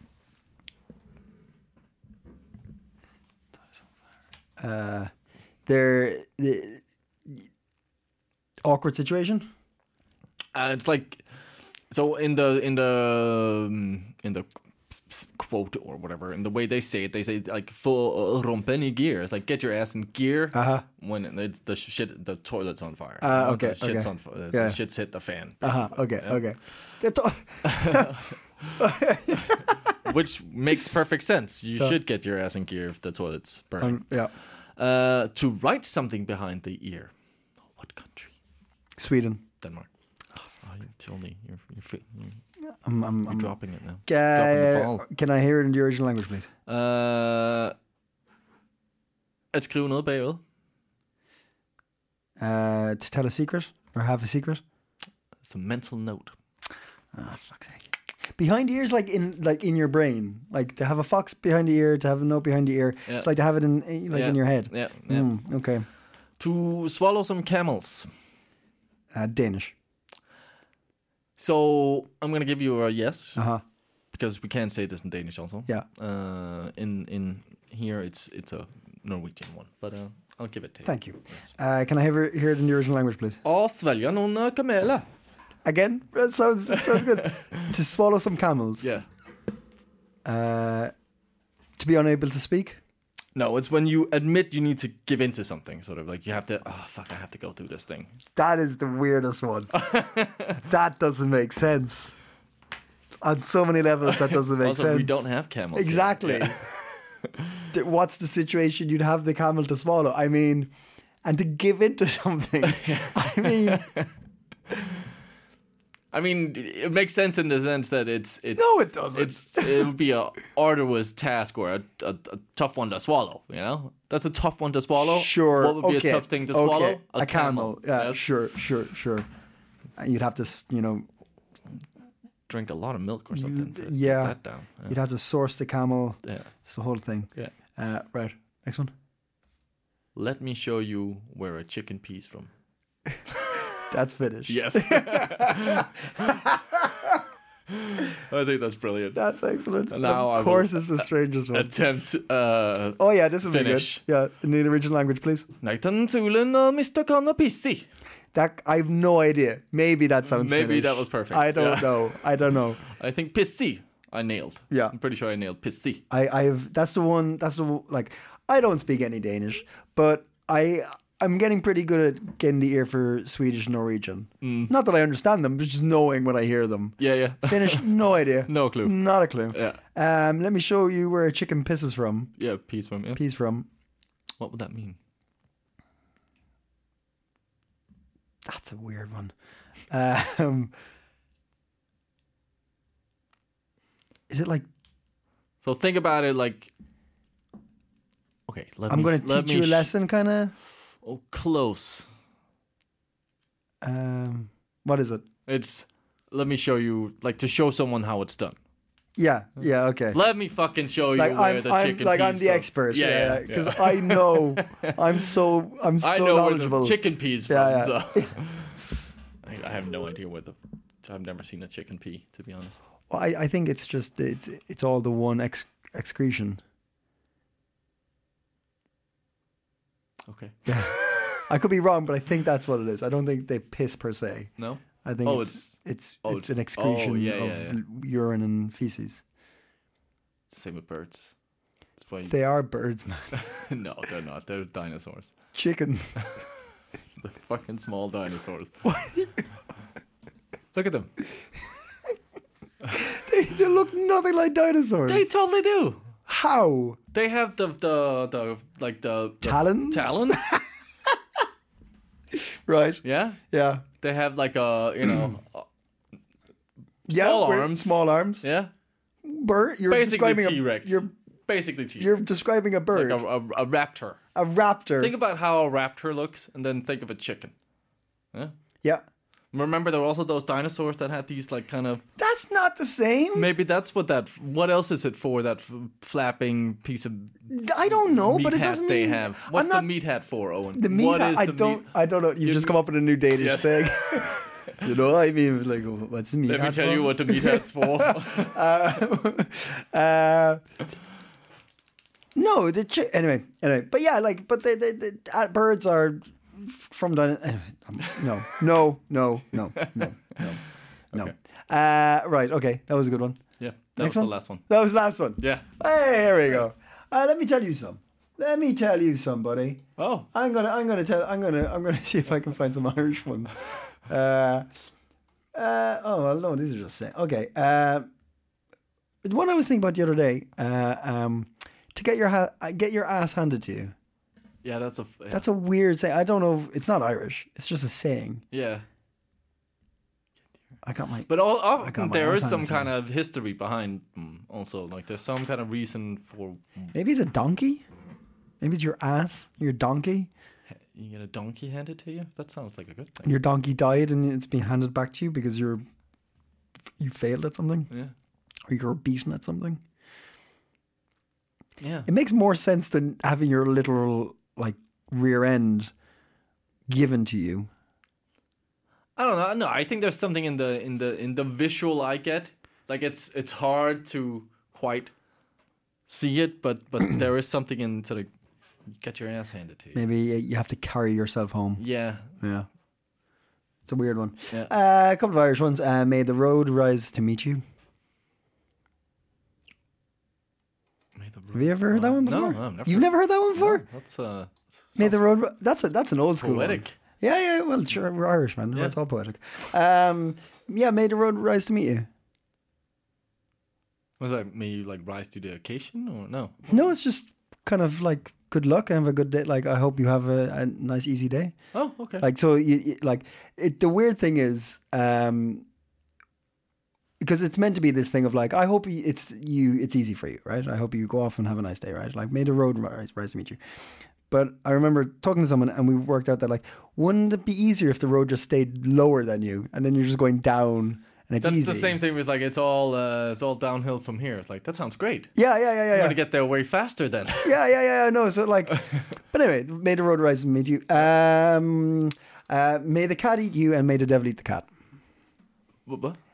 Uh, there, the awkward situation. Uh, it's like so in the in the um, in the quote or whatever, in the way they say it, they say like for rumpen i gear. It's like get your ass in gear Uh-huh. when it's the shit, the toilet's on fire. Uh, You know, okay, the shit's okay. on fire. Yeah. The shit's hit the fan. Uh huh. Okay. Yeah. Okay. The to- Which makes perfect sense. You Yeah. should get your ass in gear if the toilet's burning. um, yeah. Uh, to write something behind the ear. What country? Sweden. Denmark. Oh, you tell me. You're, you're, fi- you're, I'm. I'm. you're I'm dropping it now. dropping the uh, ball. can I hear it in the original language, please? Uh, at skrive noget bagud. Uh, to tell a secret or have a secret. It's a mental note. Oh, fuck's sake. Behind the ears, like in like in your brain, like to have a fox behind the ear, to have a note behind the ear. Yeah. It's like to have it in like Yeah. in your head. Yeah, yeah. Mm, okay. To swallow some camels. Uh, Danish. So I'm gonna give you a yes Uh huh. because we can say this in Danish also. Yeah. Uh, in in here it's it's a Norwegian one, but uh, I'll give it to you. Thank you. Yes. Uh, can I have it, hear it in the original language, please? Å svelge noen uh, kameler. Again, that sounds that sounds good. To swallow some camels. Yeah. Uh, to be unable to speak. No, it's when you admit you need to give in to something, sort of like you have to. Oh fuck! I have to go through this thing. That is the weirdest one. That doesn't make sense. On so many levels, that doesn't make also, sense. we don't have camels. here. Exactly. Yeah. Th- What's the situation you'd have the camel to swallow? I mean, and to give in to something. I mean, I mean, it makes sense in the sense that it's it's No, it doesn't. It's it would be a arduous task or a, a, a tough one to swallow. You know, that's a tough one to swallow. sure. What would be okay. a tough thing to okay. swallow? A, camel. Yeah, Yes. sure, sure, sure. And you'd have to, s- you know, Drink a lot of milk or something. To yeah. get that down. Yeah. you'd have to source the camel. yeah. It's the whole thing. Yeah. Uh, right. Next one. Let me show you where a chicken pees from. That's Finnish. Yes. I think that's brilliant. That's excellent. And now of I course, will it's the strangest one. Attempt. Uh, Oh yeah, this will finish. be good. Yeah, in the original language, please. Nathan Tulin og mister Connor Pissi. That I've no idea. Maybe that sounds. Maybe Finnish. that was perfect. I don't Yeah. know. I don't know. I think Pissi I nailed. Yeah. I'm pretty sure I nailed Pissi. I, I've that's the one. That's the like. I don't speak any Danish, but I I'm getting pretty good at getting the ear for Swedish and Norwegian. Mm. Not that I understand them, but just knowing when I hear them. Yeah, yeah. Finnish, no idea. No clue. Not a clue. Yeah. Um, let me show you where a chicken pisses from. Yeah, peas from, yeah. Peas from. What would that mean? That's a weird one. Um, is it like So think about it like... Okay, let I'm me... going to let teach me you a sh- lesson, kind of? Oh, close. Um, what is it? It's... Let me show you... Like, to show someone how it's done. Yeah, yeah, okay. Let me fucking show you Like where I'm, the I'm chicken like peas I'm the from. expert. Yeah, yeah, because yeah. I know. I'm so I'm so I know knowledgeable. where the chicken peas from. Yeah, yeah. So. I, I have no idea where the... I've never seen a chicken pea, to be honest. Well, I, I think it's just it's it's all the one ex- excretion. Okay. I could be wrong, but I think that's what it is. I don't think they piss per se. No? I think Oh, it's it's- it's oh, it's, it's- an excretion oh, yeah, of yeah, yeah. urine and feces. Same with birds. It's funny. They are birds, man. No, they're not. They're dinosaurs. Chickens. The fucking small dinosaurs. Look at them. they, they look nothing like dinosaurs. They totally do. How? They have the the the like the, the Talons? Talons. Right. Yeah. Yeah. They have like a you know uh, Yeah. Small we're- arms. Small arms. yeah. Bird. You're Basically describing T a. Rex. You're basically T Rex. you're describing a bird. like a, a, a raptor. a raptor. Think about how a raptor looks, and then think of a chicken. Yeah. yeah. Remember, there were also those dinosaurs that had these like kind of. That's not the same. Maybe that's what that. What else is it for? That f- flapping piece of I don't know, meat but it hat doesn't they mean have. I'm What's not, the meat hat for, Owen? The meat What hat. is I the don't. meat- I don't know. You've You- just come up with a new Danish Yes. saying. You know, I mean, like, what's the meat Let me hat tell for? you what the meat hat's for. uh, uh, no, the chi- anyway, anyway, but yeah, like, but the the, the uh, birds are from the anyway, um, no, no, no, no, no, no, no. Okay. Uh, right, okay, that was a good one. Yeah, that Next was one? the last one. That was the last one. Yeah. Hey, here we go. Uh, let me tell you some. Let me tell you somebody. Oh. I'm gonna, I'm gonna tell, I'm gonna, I'm gonna see if I can find some Irish ones. Uh, uh, oh well, no, these are just saying. Okay. Uh, the one I was thinking about the other day. Uh, um, to get your ha- uh, get your ass handed to you. Yeah, that's a. Yeah. That's a weird saying. I don't know. If, it's not Irish. It's just a saying. yeah. I got my. But all, I got often my there ass is some handed to kind of history behind them also. Like there's some kind of reason for Maybe it's a donkey. Maybe it's your ass. Your donkey. you get a donkey handed to you. That sounds like a good thing. Your donkey died and it's being handed back to you because you're you failed at something Yeah. or you're beaten at something. Yeah. It makes more sense than having your literal like rear end given to you. I don't know. No, I think there's something in the in the in the visual I get. Like it's it's hard to quite see it, but but there is something in sort of get your ass handed to you. Maybe you have to carry yourself home. Yeah. Yeah. It's a weird one. Yeah. Uh, a couple of Irish ones. Uh, May the road rise to meet you. May the Have you ever heard that one before? No, no, I've never. You've never heard that one before? No, that's uh. May the sounds road. Ri- That's a that's an old school one. poetic. Yeah, yeah. Well, sure, we're Irish, man. Yeah. It's all poetic. Um, yeah, may the road rise to meet you. Was that may you like rise to the occasion or no? No, it's just kind of like good luck and have a good day. Like I hope you have a, a nice, easy day. Oh, okay. Like so, you, you like it. The weird thing is, um, because it's meant to be this thing of like, I hope you, it's you, it's easy for you, right? I hope you go off and have a nice day, right? Like may the road rise, rise to meet you. But I remember talking to someone and we worked out that like, wouldn't it be easier if the road just stayed lower than you and then you're just going down and it's That's easy? the same thing with like it's all uh, it's all downhill from here. It's like that sounds great. Yeah, yeah, yeah, yeah. I'm yeah. gonna get there way faster then. yeah, yeah, yeah. No, so like, but anyway, may the road rise and meet you. Um, uh, may the cat eat you, and may the devil eat the cat. What? what?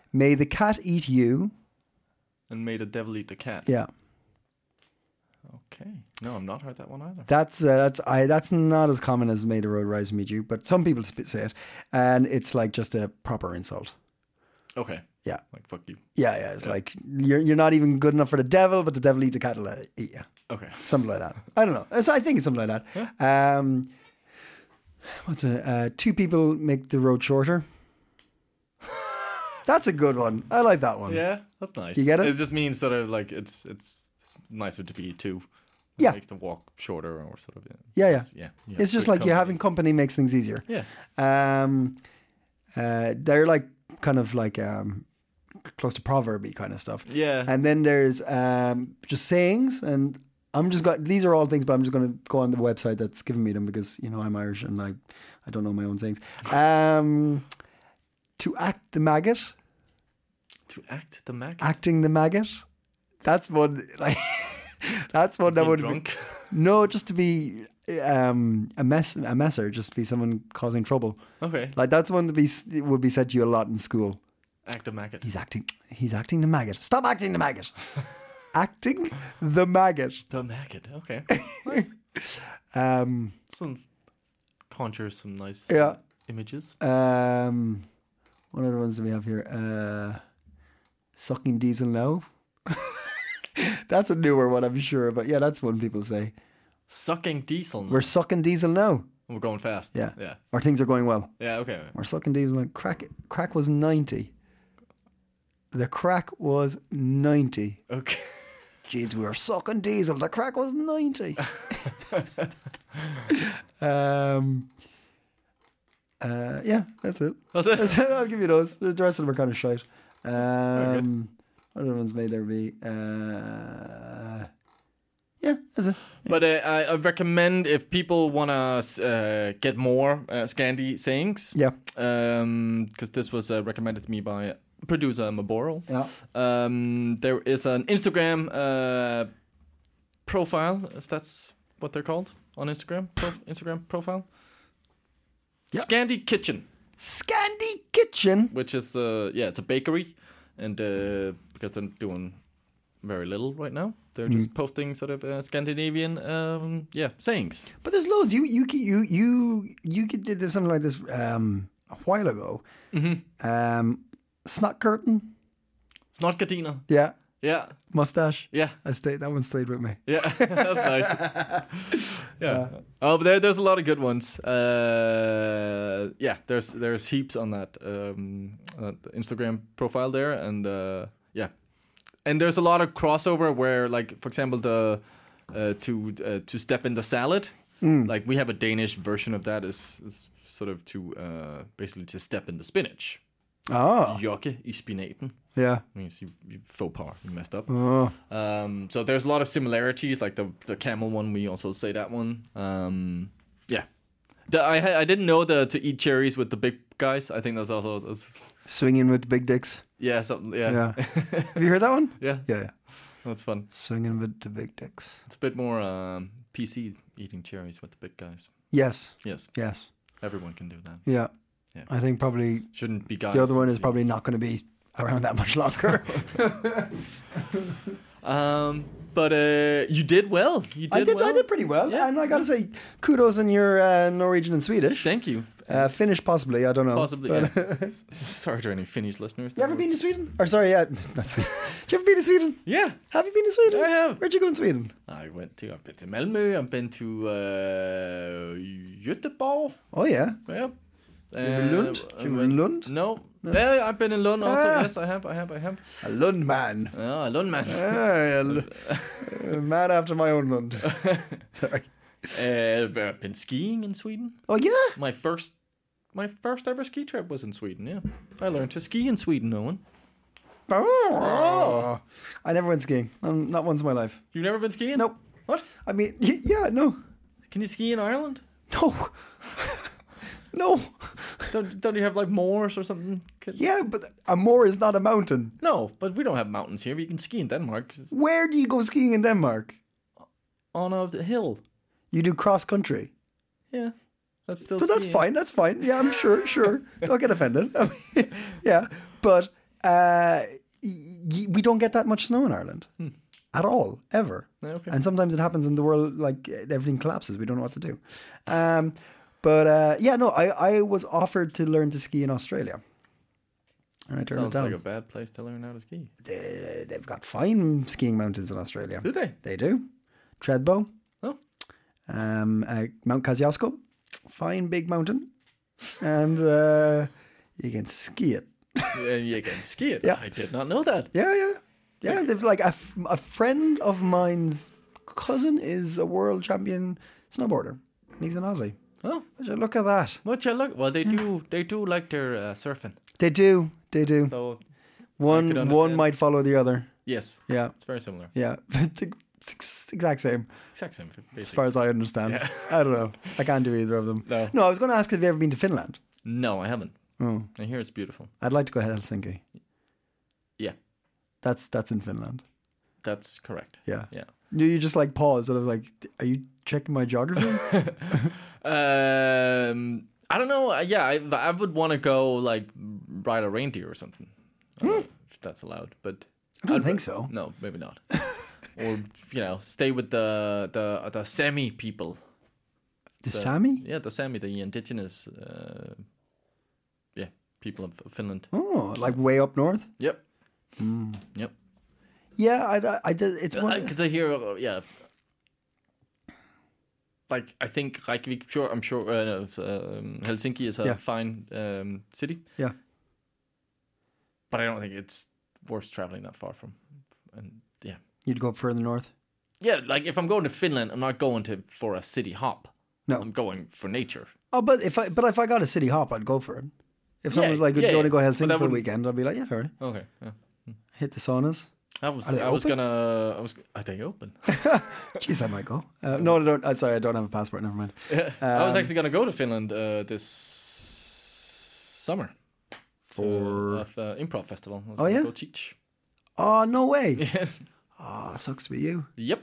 May the cat eat you. And may the devil eat the cat. Yeah. Okay. No, I've not heard that one either. That's uh, that's I that's not as common as May the road rise and meet you, but some people sp- say it, and it's like just a proper insult. Okay. Yeah. Like, fuck you. Yeah, yeah. It's Yeah. like you're you're not even good enough for the devil, but the devil eat the cat will eat you. Okay. Something like that. I don't know. It's, I think it's something like that. Um, what's it? Uh, two people make the road shorter. That's a good one. I like that one. Yeah, that's nice. You get it? It just means sort of like it's it's nicer to be two. It Yeah. makes the walk shorter or sort of. Yeah. Yeah, yeah. It's- yeah. you have It's just good like you company. having company makes things easier. Yeah. Um, uh, they're like kind of like um, close to proverby kind of stuff. Yeah. And then there's um, just sayings, and I'm just got these are all things, but I'm just going to go on the website that's given me them because you know I'm Irish and I I don't know my own sayings. Um, to act the maggot, To act the maggot. acting the maggot. That's one like that's one that Being would drunk. Be, no, just to be um, a mess a messer, just to be someone causing trouble. Okay. Like that's one that be would be said to you a lot in school. Act the maggot. He's acting. He's acting the maggot. Stop acting the maggot. Acting the maggot. The maggot. Okay. Nice. Um. Some conjure some nice Yeah. uh, images. Um. What other ones do we have here? Uh, sucking diesel now. That's a newer one, I'm sure, but yeah, that's one people say. Sucking diesel. We're sucking diesel now, We're going fast. Yeah. Yeah. or things are going well. Yeah. Okay. We're sucking diesel now. Crack. Crack was ninety. The crack was ninety. Okay. Jeez, we were sucking diesel. The crack was ninety. um, uh, yeah, that's it. That's it. That's it. I'll give you those. The rest of them are kind of shite. good. Um, what other ones may there be? Uh, yeah, that's it. But uh, I, I recommend if people want to uh, get more uh, Scandi sayings. Yeah. Because this was uh, recommended to me by producer Maboro. Yeah. Um, there is an Instagram uh, profile, if that's what they're called on Instagram. Pro- Instagram profile. Yeah. Scandi Kitchen, Scandi Kitchen. which is uh, yeah, it's a bakery, and uh, because they're doing very little right now, they're just posting sort of uh, Scandinavian um, yeah sayings. But there's loads. You you you you you did this, something like this um, a while ago. Mm-hmm. Um, snot curtain. Snotgardiner. Yeah. Yeah, Mustache. yeah. I stayed. That one stayed with me. Yeah, that's nice. Yeah. Oh, but there, there's a lot of good ones. Uh, yeah, there's there's heaps on that um, uh, Instagram profile there, and uh, yeah, and there's a lot of crossover where, like, for example, the uh, to uh, to step in the salad. Like we have a Danish version of that is, is sort of to uh, basically to step in the spinach. Oh. Jokke i spinaten. Yeah. Means you, you faux pas, you messed up. Oh. Um, so there's a lot of similarities, like the the camel one. We also say that one. Um, yeah, the, I ha- I didn't know the to eat cherries with the big guys. I think that's also that's, Swinging with the big dicks. yeah something yeah Yeah. Have you heard that one? yeah Yeah. yeah. that's fun. Swinging with the big dicks. It's a bit more um, P C eating cherries with the big guys. Yes. Yes, Yes. everyone can do that. Yeah. Yeah. I think probably Shouldn't be guys. the other one is probably not going to be around that much longer. Um, but uh, you did well. You did. I did. Well. I did pretty well, Yeah. and I got to say, kudos on your uh, Norwegian and Swedish. Thank you. Uh, Finnish, possibly. I don't know. Possibly. But- Yeah. Sorry to any Finnish listeners. You ever been to Sweden? Or sorry, yeah, not Sweden. Did you ever been to Sweden? Yeah. Have you been to Sweden? I have. Where'd you go in Sweden? I went to. I've been to Malmö. I've been to uh, Göteborg. Oh yeah. Yeah. you ever in Lund? I Did you ever went- in Lund? No. Yeah, I've been in Lund also. Ah. Yes, I have. I have. I have. A Lund man. Oh, Lund man. Ah, a L- a man after my own Lund. Sorry. Uh, I've been skiing in Sweden. Oh yeah. My first, my first ever ski trip was in Sweden. Yeah, I learned to ski in Sweden. Owen, Oh. I never went skiing. Um, not once in my life. you've never been skiing? Nope. What? I mean, y- yeah, no, Can you ski in Ireland? no, no. Don't, don't you have like moors or something? Could- Yeah, but a moor is not a mountain. No, but we don't have mountains here. You can ski in Denmark Where do you go skiing in Denmark? on a hill. You do cross country. Yeah, that's still. But that's skiing. fine. That's fine. Yeah, I'm sure. Sure. Don't get offended. I mean, yeah, but Uh, y- y- we don't get that much snow in Ireland at all, ever. Okay. And sometimes it happens in the world, like everything collapses. We don't know what to do. Um, but uh, yeah, no, I, I was offered to learn to ski in Australia, and I turned Sounds it down. like a bad place to learn how to ski. They, they've got fine skiing mountains in Australia. Do they? They do. Treadbow, Oh, um, uh, Mount Kosciuszko, fine big mountain, and uh, you can ski it. and you can ski it. Yeah. I did not know that. Yeah, yeah, yeah. They've like a, f- a friend of mine's cousin is a world champion snowboarder, and he's an Aussie. Oh, Would you look at that? what you look? Well, they do. They do like their uh, surfing. They do, they do. So one could one understand. might follow the other. yes, Yeah, it's very similar. yeah. It's ex- exact same, Exact same, basically. as far as I understand. Yeah. I don't know. I can't do either of them. No. No, I was going to ask, have you ever been to Finland? No, I haven't. Oh, I hear it's beautiful. I'd like to go to Helsinki. Yeah, That's that's in Finland. that's correct. Yeah. Yeah. You, you just like paused, and I was like, "Are you checking my geography?" Um, I don't know. uh, Yeah, I, I would want to go like ride a reindeer or something. I don't know if that's allowed, but I don't I'd- think so. No, maybe not. Or you know, stay with the the the Sami people. The The- Sami? Yeah, the Sami, the indigenous, uh, yeah, people of Finland. Oh, like way up north. Yep. Hmm. Yep. Yeah, I, I, I did. It's one. Because I hear, uh, yeah. Like I think Reykjavik, sure, I'm sure uh, um, Helsinki is a Yeah. fine um, city, Yeah. but I don't think it's worth traveling that far from. And yeah, You'd go further north. yeah, like if I'm going to Finland, I'm not going to for a city hop. No. I'm going for nature. Oh, but if I but if I got a city hop, I'd go for it. If someone Yeah, was like, "Do yeah, you want to go yeah. Helsinki But that for a wouldn't- weekend?" I'd be like, "Yeah, all right." Okay. Yeah. Hit the saunas. I was, Are they I was open? gonna, I was, are they open? Jeez, I might go. Uh, no, I don't. Uh, sorry, I don't have a passport. Never mind. I was Um, actually gonna go to Finland uh, this summer For to, uh, uh, improv festival. I was Oh, gonna yeah? go teach. oh no way. Yes. Oh, sucks to be you. Yep.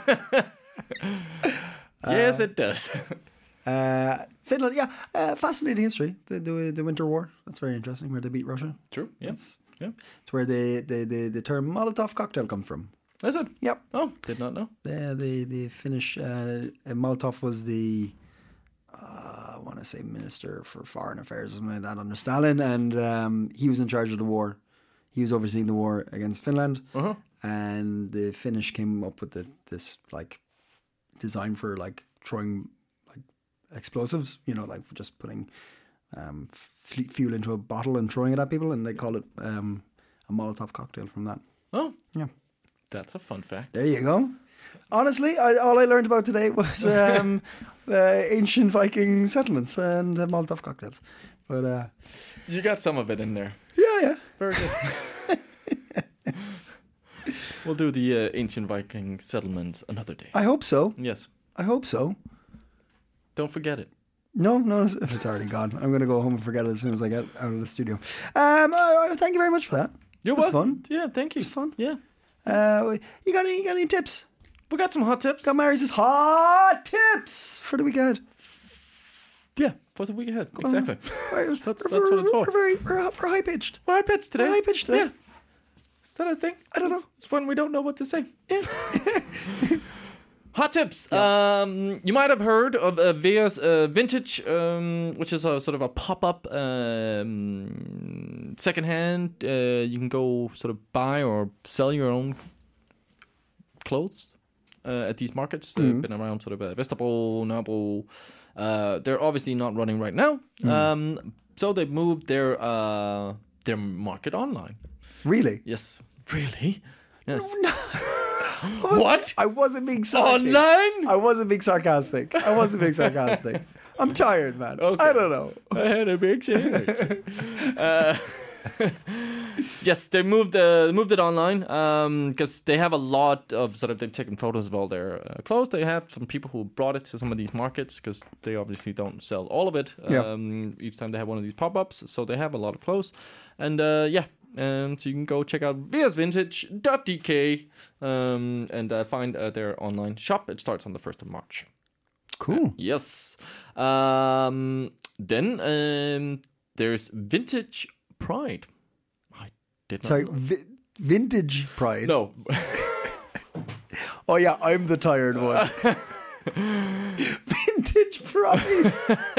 yes, it does. Uh, Finland, yeah, uh, fascinating history. The, the the Winter War. That's very interesting. Where they beat Russia. True. Yes. Yeah. It's where the the the, the term Molotov cocktail comes from. That's it. Yep. Oh, did not know. The the the Finnish uh, uh, Molotov was the uh, I want to say minister for foreign affairs or something like that under Stalin, and um, he was in charge of the war. He was overseeing the war against Finland, Uh-huh. and the Finnish came up with the, this like design for like throwing like explosives. You know, like just putting um, f- fuel into a bottle and throwing it at people, and they call it um, a Molotov cocktail from that. Oh, Yeah. that's a fun fact. There you go. Honestly, I, all I learned about today was um, uh, ancient Viking settlements and uh, Molotov cocktails. But uh, You got some of it in there. yeah, yeah. Very good. We'll do the uh, ancient Viking settlements another day. I hope so. Yes. I hope so. Don't forget it. No, no, it's, it's already gone. I'm going to go home and forget it as soon as I get out of the studio. Um, uh, thank you very much for that. You're It was welcome. fun. Yeah, thank you. It was fun. Yeah. Uh, you got any? You got any tips? We got some hot tips. Got Mary's hot tips for the weekend. Yeah, for the week ahead. Exactly. We're, That's- we're, that's what it's for. We're very we're, we're high pitched. We're high pitched today. We're high pitched today. Yeah. Is that a thing? I don't It's- know. It's when we don't know what to say. Hot tips. Um, you might have heard of uh, Vea's uh, Vintage, um, which is a sort of a pop-up um, secondhand. Uh, you can go sort of buy or sell your own clothes uh, at these markets. They've been around sort of uh, Vesterbro, Nørrebro. Uh, they're obviously not running right now. Um, so they've moved their uh, their market online. Really? Yes. Really? Yes. I wasn't- What? I wasn't being sarcastic. Online? I wasn't being sarcastic. I wasn't being sarcastic. I'm tired, man. Okay. I don't know. I had a big sandwich. uh, yes, they moved uh, moved it online because they have a lot of sort of they've taken photos of all their uh, clothes. They have some people who brought it to some of these markets because they obviously don't sell all of it. Yeah. Um, each time they have one of these pop ups, so they have a lot of clothes, and uh, yeah. Um, so you can go check out veas vintage dot d k um, and uh, find uh, their online shop. It starts on the first of March. Cool. Yes. Um, then um, there's Vintage Pride. I Did not Sorry, know. vi- vintage pride. No. Oh yeah, I'm the tired one. Vintage pride.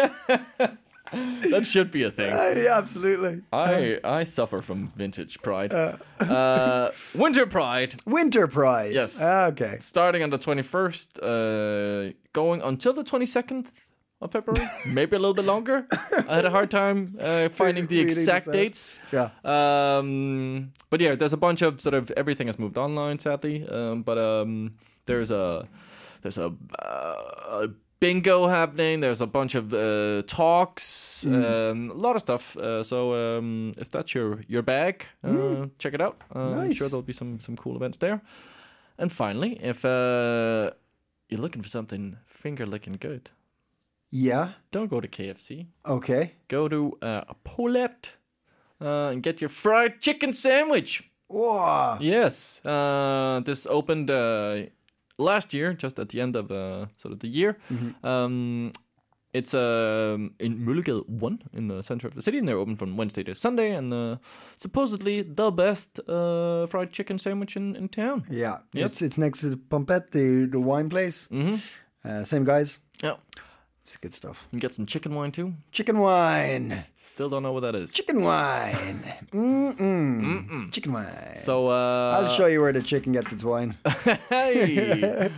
That should be a thing. Uh, yeah, absolutely. I I suffer from vintage pride. Uh, winter pride, Winter pride. Yes. Ah, okay. starting on the twenty-first, uh, going until the twenty-second of February, maybe a little bit longer. I had a hard time uh, finding the Reading exact this out. dates. Yeah. Um, but yeah, there's a bunch of sort of everything has moved online, sadly. Um, but um, there's a there's a, uh, a bingo happening. There's a bunch of uh, talks, Mm. um, a lot of stuff. Uh, so um, if that's your your bag, uh, check it out. Uh, I'm Nice. sure there'll be some some cool events there. And finally, if uh, you're looking for something finger licking good, Yeah. don't go to K F C. Okay. Go to uh, Paulette uh, and get your fried chicken sandwich. Wow. Yes, uh, this opened uh, last year, just at the end of uh, sort of the year. Um, it's um, in Møllegade one in the center of the city, and they're open from Wednesday to Sunday, and uh, supposedly the best uh, fried chicken sandwich in, in town. Yeah. Yep. It's it's next to the Pompette, the the wine place. Mm-hmm. Uh, same guys. Yeah, It's good stuff. you can get some chicken wine too. Chicken wine. Still don't know what that is. Chicken wine. Mm-mm. Mm-mm. Chicken wine. So uh, I'll show you where the chicken gets its wine. Hey.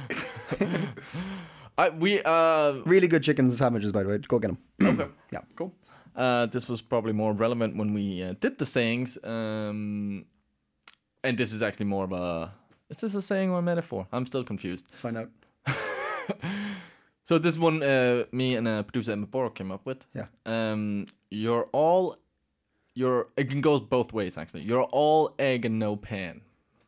I we uh Really good chicken sandwiches, by the way. Go get them. okay. Yeah. Cool. Uh, this was probably more relevant when we uh, did the sayings. Um, and this is actually more of a... Is this a saying or a metaphor? I'm still confused. Find out. So this one, uh, me and uh, producer Emma Borg came up with. Yeah. Um, you're all... You're. It can go both ways, actually. You're all egg and no pan.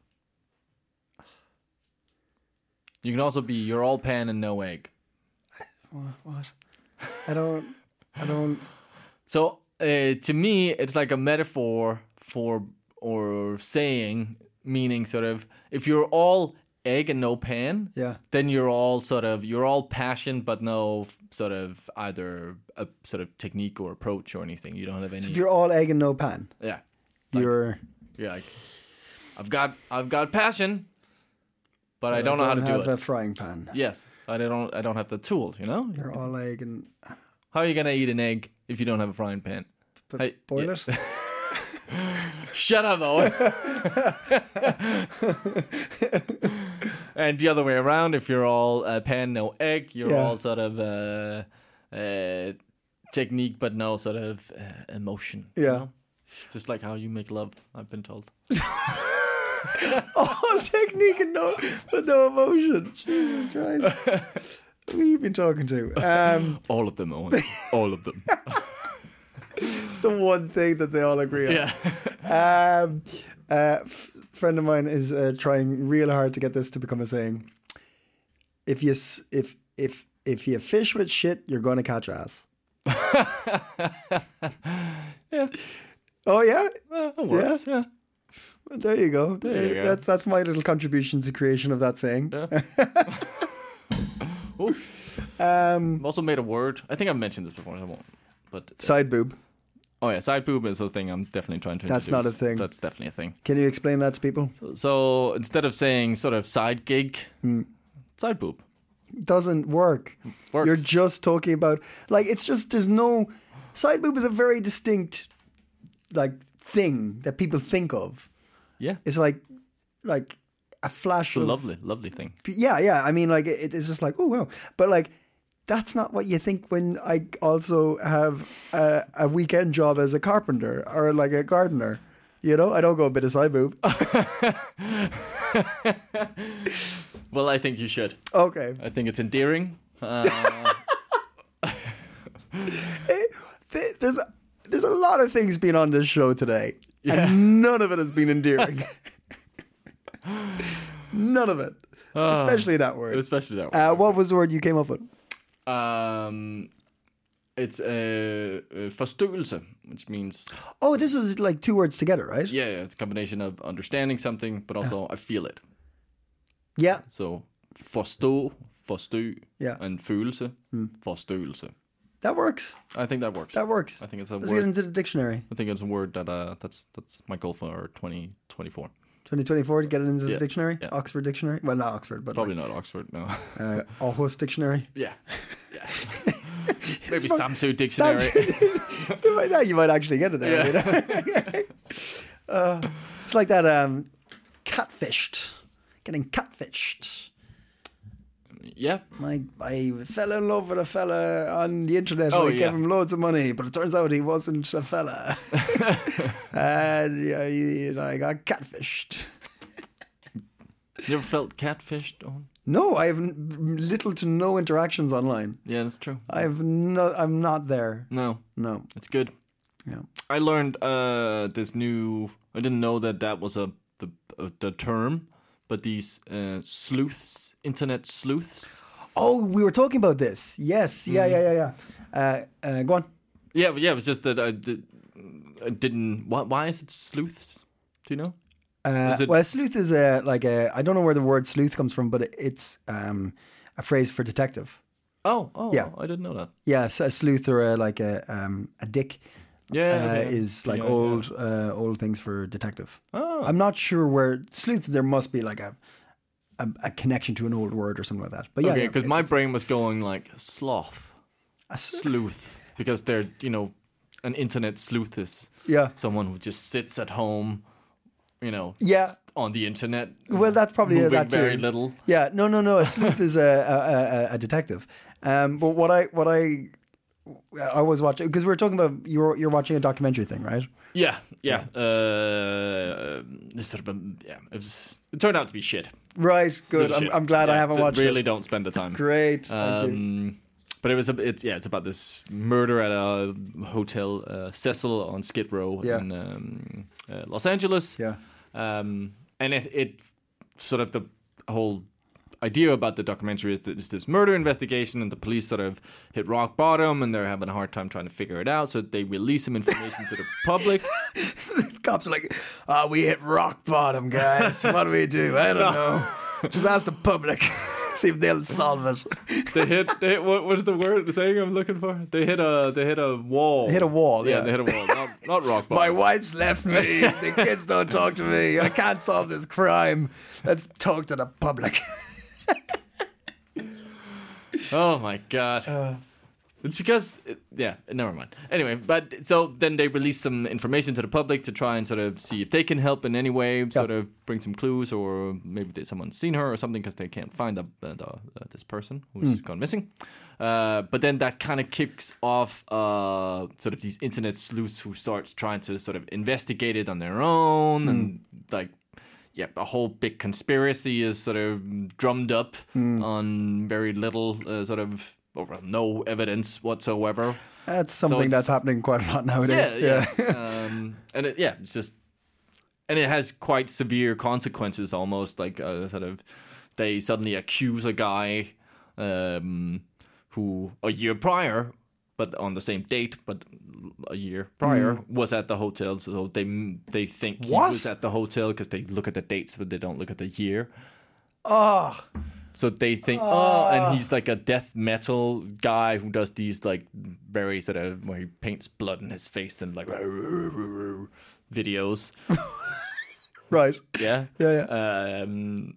You can also be you're all pan and no egg. What? I don't. I don't. So uh, to me, it's like a metaphor for or saying, meaning sort of if you're all egg and no pan, Yeah. then you're all sort of you're all passion but no f- sort of either a sort of technique or approach or anything. You don't have any. So if you're all egg and no pan, yeah, you're. you're like I've got I've got passion, but I don't know how to do have it. a frying pan. Yes, I don't I don't have the tools. You know, You're all egg and. how are you gonna eat an egg if you don't have a frying pan? But Hey, boil yeah. it. Shut up, Owen. And the other way around, if you're all uh, pan, no egg, you're Yeah. all sort of uh, uh, technique, but no sort of uh, emotion. you Yeah. know? Just like how you make love, I've been told. All technique and no, but no emotion. Jesus Christ. Who have you been talking to? Um, All of them, Owen. All of them. it's the one thing that they all agree on. Yeah. Um, uh, f- friend of mine is uh, trying real hard to get this to become a saying. If you s- if if if you fish with shit, you're gonna catch ass. Yeah. Oh yeah, Uh, it works. Yeah. Well, there you go. There you go. That's that's my little contribution to creation of that saying. Yeah. Ooh. Um, I've also made a word. I think I've mentioned this before. I won't. But uh, side boob. oh yeah, side boob is a thing I'm definitely trying to. That's introduce. not a thing. That's definitely a thing. Can you explain that to people? So instead of saying sort of side gig, side boob. Doesn't work. Works. You're just talking about like it's just there's no side boob is a very distinct like thing that people think of. Yeah. It's like like a flash It's a of lovely, lovely thing. yeah, yeah. I mean, like it, it's just like oh wow, but like that's not what you think when I also have a, a weekend job as a carpenter or like a gardener. You know, I don't go a bit of side boob. Well, I think you should. Okay. I think it's endearing. Uh, Th- There's a, there's a lot of things being on this show today, Yeah. and none of it has been endearing. None of it, especially that word. especially that one. Uh, what was the word you came up with? Um, it's uh, uh, forståelse, which means Oh, this was like two words together, right? yeah, yeah, it's a combination of understanding something, but also I feel it. Yeah, So forstå, forstå, Yeah. and følelse, forståelse. That works. I think that works. That works. I think it's a Let's word. get into the dictionary. I think it's a word that uh, that's that's my goal for twenty twenty-four. twenty twenty-four to get it into Yeah. the dictionary. Yeah. Oxford Dictionary. Well, not Oxford, but Probably like, not Oxford. No. uh, Aarhus Dictionary. yeah. Yeah. Maybe Samsung Dictionary. you, might, yeah, you might actually get it there. Yeah. You know? uh, it's like that um, catfished. Getting catfished. Yeah. My, I fell in love with a fella on the internet. Oh, and I yeah. gave him loads of money, but it turns out he wasn't a fella. and yeah, you know, I got catfished. You ever felt catfished? On? No, I have n- little to no interactions online. Yeah, that's true. I have no. I'm not there. No, No. it's good. Yeah. I learned uh, this new. I didn't know that that was a the uh, the term, but these uh, sleuths, internet sleuths. Oh, we were talking about this. Yes. Yeah. Yeah. Yeah. Yeah. Uh, uh, go on. Yeah, but yeah. It was just that I, did, I didn't. Why, why is it sleuths? Do you know? Uh, Is it- well, sleuth is a like a. I don't know where the word sleuth comes from, but it's um, a phrase for detective. Oh, oh, Yeah. I didn't know that. Yeah, so a sleuth or a, like a um, a dick. Yeah, uh, okay. is like Yeah, old uh, old things for detective. Oh. I'm not sure where sleuth. There must be like a a, a connection to an old word or something like that. But yeah, Okay, yeah, because it's- my brain was going like sloth, a s- sleuth, because they're you know, an internet sleuth is yeah. someone who just sits at home, you know, Yeah. s- on the internet. Well, that's probably moving that too. very little. Yeah, no, no, no. A sleuth is a, a, a, a detective. Um, but what I what I I was watching because we were talking about you're you're watching a documentary thing, right? Yeah, yeah. Uh, this sort of a, yeah. It, was, it turned out to be shit. Right. Good. Little I'm, shit. I'm glad I Yeah, haven't th- watched Really, it. don't spend the time. Great. Thank you. Um, but it was a, it's yeah, it's about this murder at a hotel, uh, Cecil on Skid Row Yeah. in um, uh, Los Angeles. Yeah. Um, and it, it sort of the whole idea about the documentary is that it's this murder investigation, and the police sort of hit rock bottom, and they're having a hard time trying to figure it out. So they release some information to the public. Cops are like, "Ah, we hit rock bottom, guys. What do we do? I don't know. Just ask the public. See if they'll solve it." They hit. They hit what? What is the word? The saying I'm looking for? They hit a. They hit a wall. They hit a wall, yeah. they hit a wall. Not, not rock My bottom. wife's left me. The kids don't talk to me. I can't solve this crime. Let's talk to the public. Oh my god. Uh. It's because, it, yeah, never mind. Anyway, but so then they release some information to the public to try and sort of see if they can help in any way, sort of bring some clues, or maybe they, someone's seen her or something because they can't find the, the, the, uh, this person who's gone missing. Uh, but then that kind of kicks off uh, sort of these internet sleuths who start trying to sort of investigate it on their own, and like, yeah, a whole big conspiracy is sort of drummed up on very little uh, sort of, or no evidence whatsoever. That's something it's- that's happening quite a lot nowadays. Yeah, yeah. um, and it, yeah, it's just, and it has quite severe consequences. Almost like uh, sort of, they suddenly accuse a guy um, who a year prior, but on the same date, but a year prior, was at the hotel. So they they think he What? was at the hotel because they look at the dates, but they don't look at the year. Oh, So they think, oh, and he's like a death metal guy who does these like very sort of where he paints blood in his face and like videos. right. Yeah, Yeah, Um,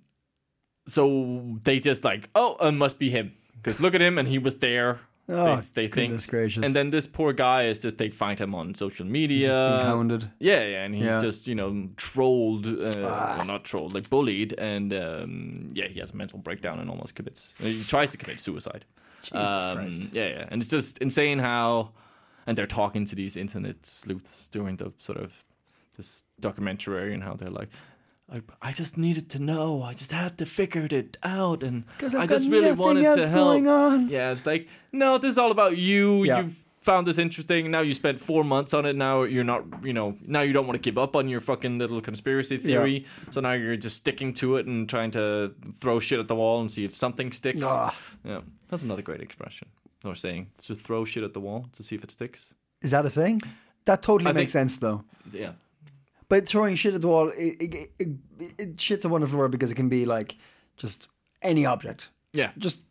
so they just like, oh, it must be him because look at him and he was there. Oh, they they think, goodness gracious. and then this poor guy is just they find him on social media. Just being hounded. Yeah, yeah, and he's Yeah. just you know trolled, uh, well, not trolled, like bullied, and um, yeah, he has a mental breakdown and almost commits. He tries to commit suicide. Jesus Um, Christ. Yeah, yeah, and it's just insane how, and they're talking to these internet sleuths during the sort of this documentary and how they're like. I, I just needed to know. I just had to figure it out, and 'Cause I've I got just really nothing wanted to else help. going on. Yeah, it's like, no, this is all about you. Yeah. You've found this interesting. Now you spent four months on it. Now you're not, you know, now you don't want to give up on your fucking little conspiracy theory. So now you're just sticking to it and trying to throw shit at the wall and see if something sticks. Ah. Yeah, that's another great expression or saying. Just throw shit at the wall to see if it sticks. Is that a thing? That totally I makes think- sense, though. Yeah. But throwing shit at the wall, it, it, it, it, shit's a wonderful word because it can be like just any object. Yeah. Just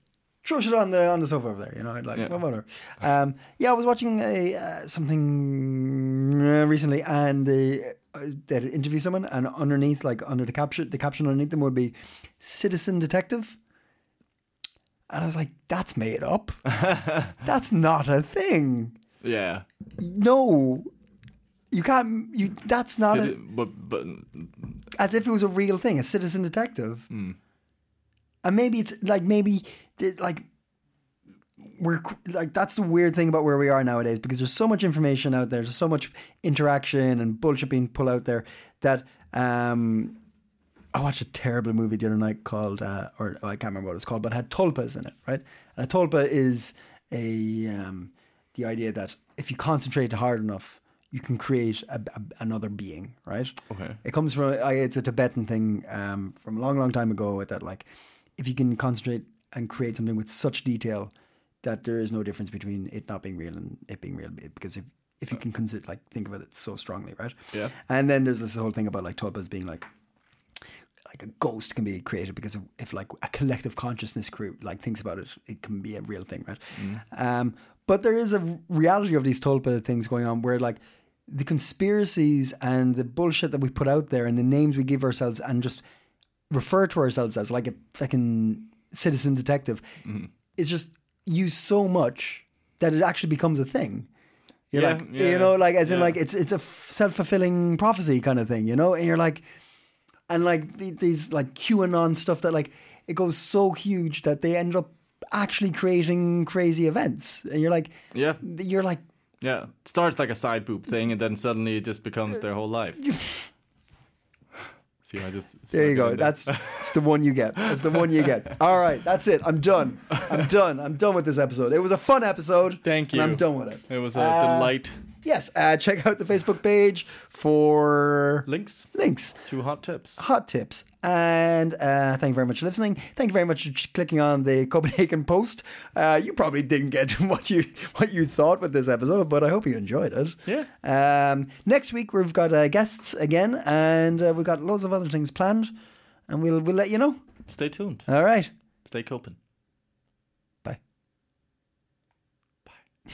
throw shit on the on the sofa over there, you know. I'd like, Yeah. yeah. whatever. Um, yeah, I was watching a uh, something uh, recently, and they uh, they'd interview someone, and underneath, like under the caption, the caption underneath them would be "Citizen Detective," and I was like, "That's made up. That's not a thing. Yeah. No, you can't. You that's not Citi- a, but but as if it was a real thing, a citizen detective." mm. And maybe it's like maybe like we're like that's the weird thing about where we are nowadays, because there's so much information out there, there's so much interaction and bullshit being pulled out there that um, I watched a terrible movie the other night called uh, or oh, I can't remember what it's called, but it had tulpas in it, right? And a tulpa is a um, the idea that if you concentrate hard enough, you can create a, a, another being, right? Okay. It comes from I, it's a Tibetan thing um, from a long, long time ago. That like, if you can concentrate and create something with such detail that there is no difference between it not being real and it being real, because if if you can consider like think of it, it's so strongly, right? Yeah. And then there's this whole thing about like tulpas being like. Like a ghost can be created because of, if like a collective consciousness crew like thinks about it, it can be a real thing, right? Mm. Um, but there is a reality of these tulpa things going on where like the conspiracies and the bullshit that we put out there and the names we give ourselves and just refer to ourselves as like a fucking citizen detective mm. is just used so much that it actually becomes a thing. You're yeah, like, yeah, you know, like as in yeah. like it's it's a self-fulfilling prophecy kind of thing, you know? And you're like, and like these like QAnon stuff that like it goes so huge that they end up actually creating crazy events, and you're like, yeah, you're like, yeah, it starts like a side boob thing, and then suddenly it just becomes their whole life. See, I just there you go. There. That's that's the one you get. That's the one you get. All right, that's it. I'm done. I'm done. I'm done with this episode. It was a fun episode. Thank you. And I'm done with it. It was a uh, delight. Yes, uh, check out the Facebook page for links. Links to hot tips. Hot tips. And uh, thank you very much for listening. Thank you very much for clicking on the Copenhagen Post. Uh, you probably didn't get what you what you thought with this episode, but I hope you enjoyed it. Yeah. Um, next week we've got uh, guests again, and uh, we've got loads of other things planned, and we'll we'll let you know. Stay tuned. All right. Stay Copen. Bye. Bye.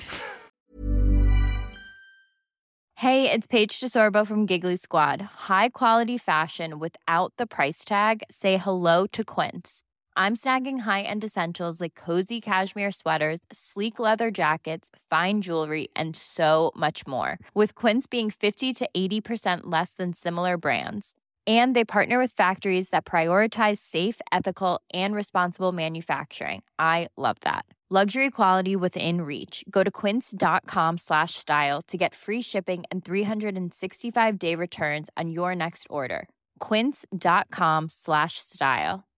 Hey, it's Paige DeSorbo from Giggly Squad. High quality fashion without the price tag. Say hello to Quince. I'm snagging high-end essentials like cozy cashmere sweaters, sleek leather jackets, fine jewelry, and so much more. With Quince being fifty to eighty percent less than similar brands. And they partner with factories that prioritize safe, ethical, and responsible manufacturing. I love that. Luxury quality within reach. Go to quince.com slash style to get free shipping and three sixty-five day returns on your next order. Quince.com slash style.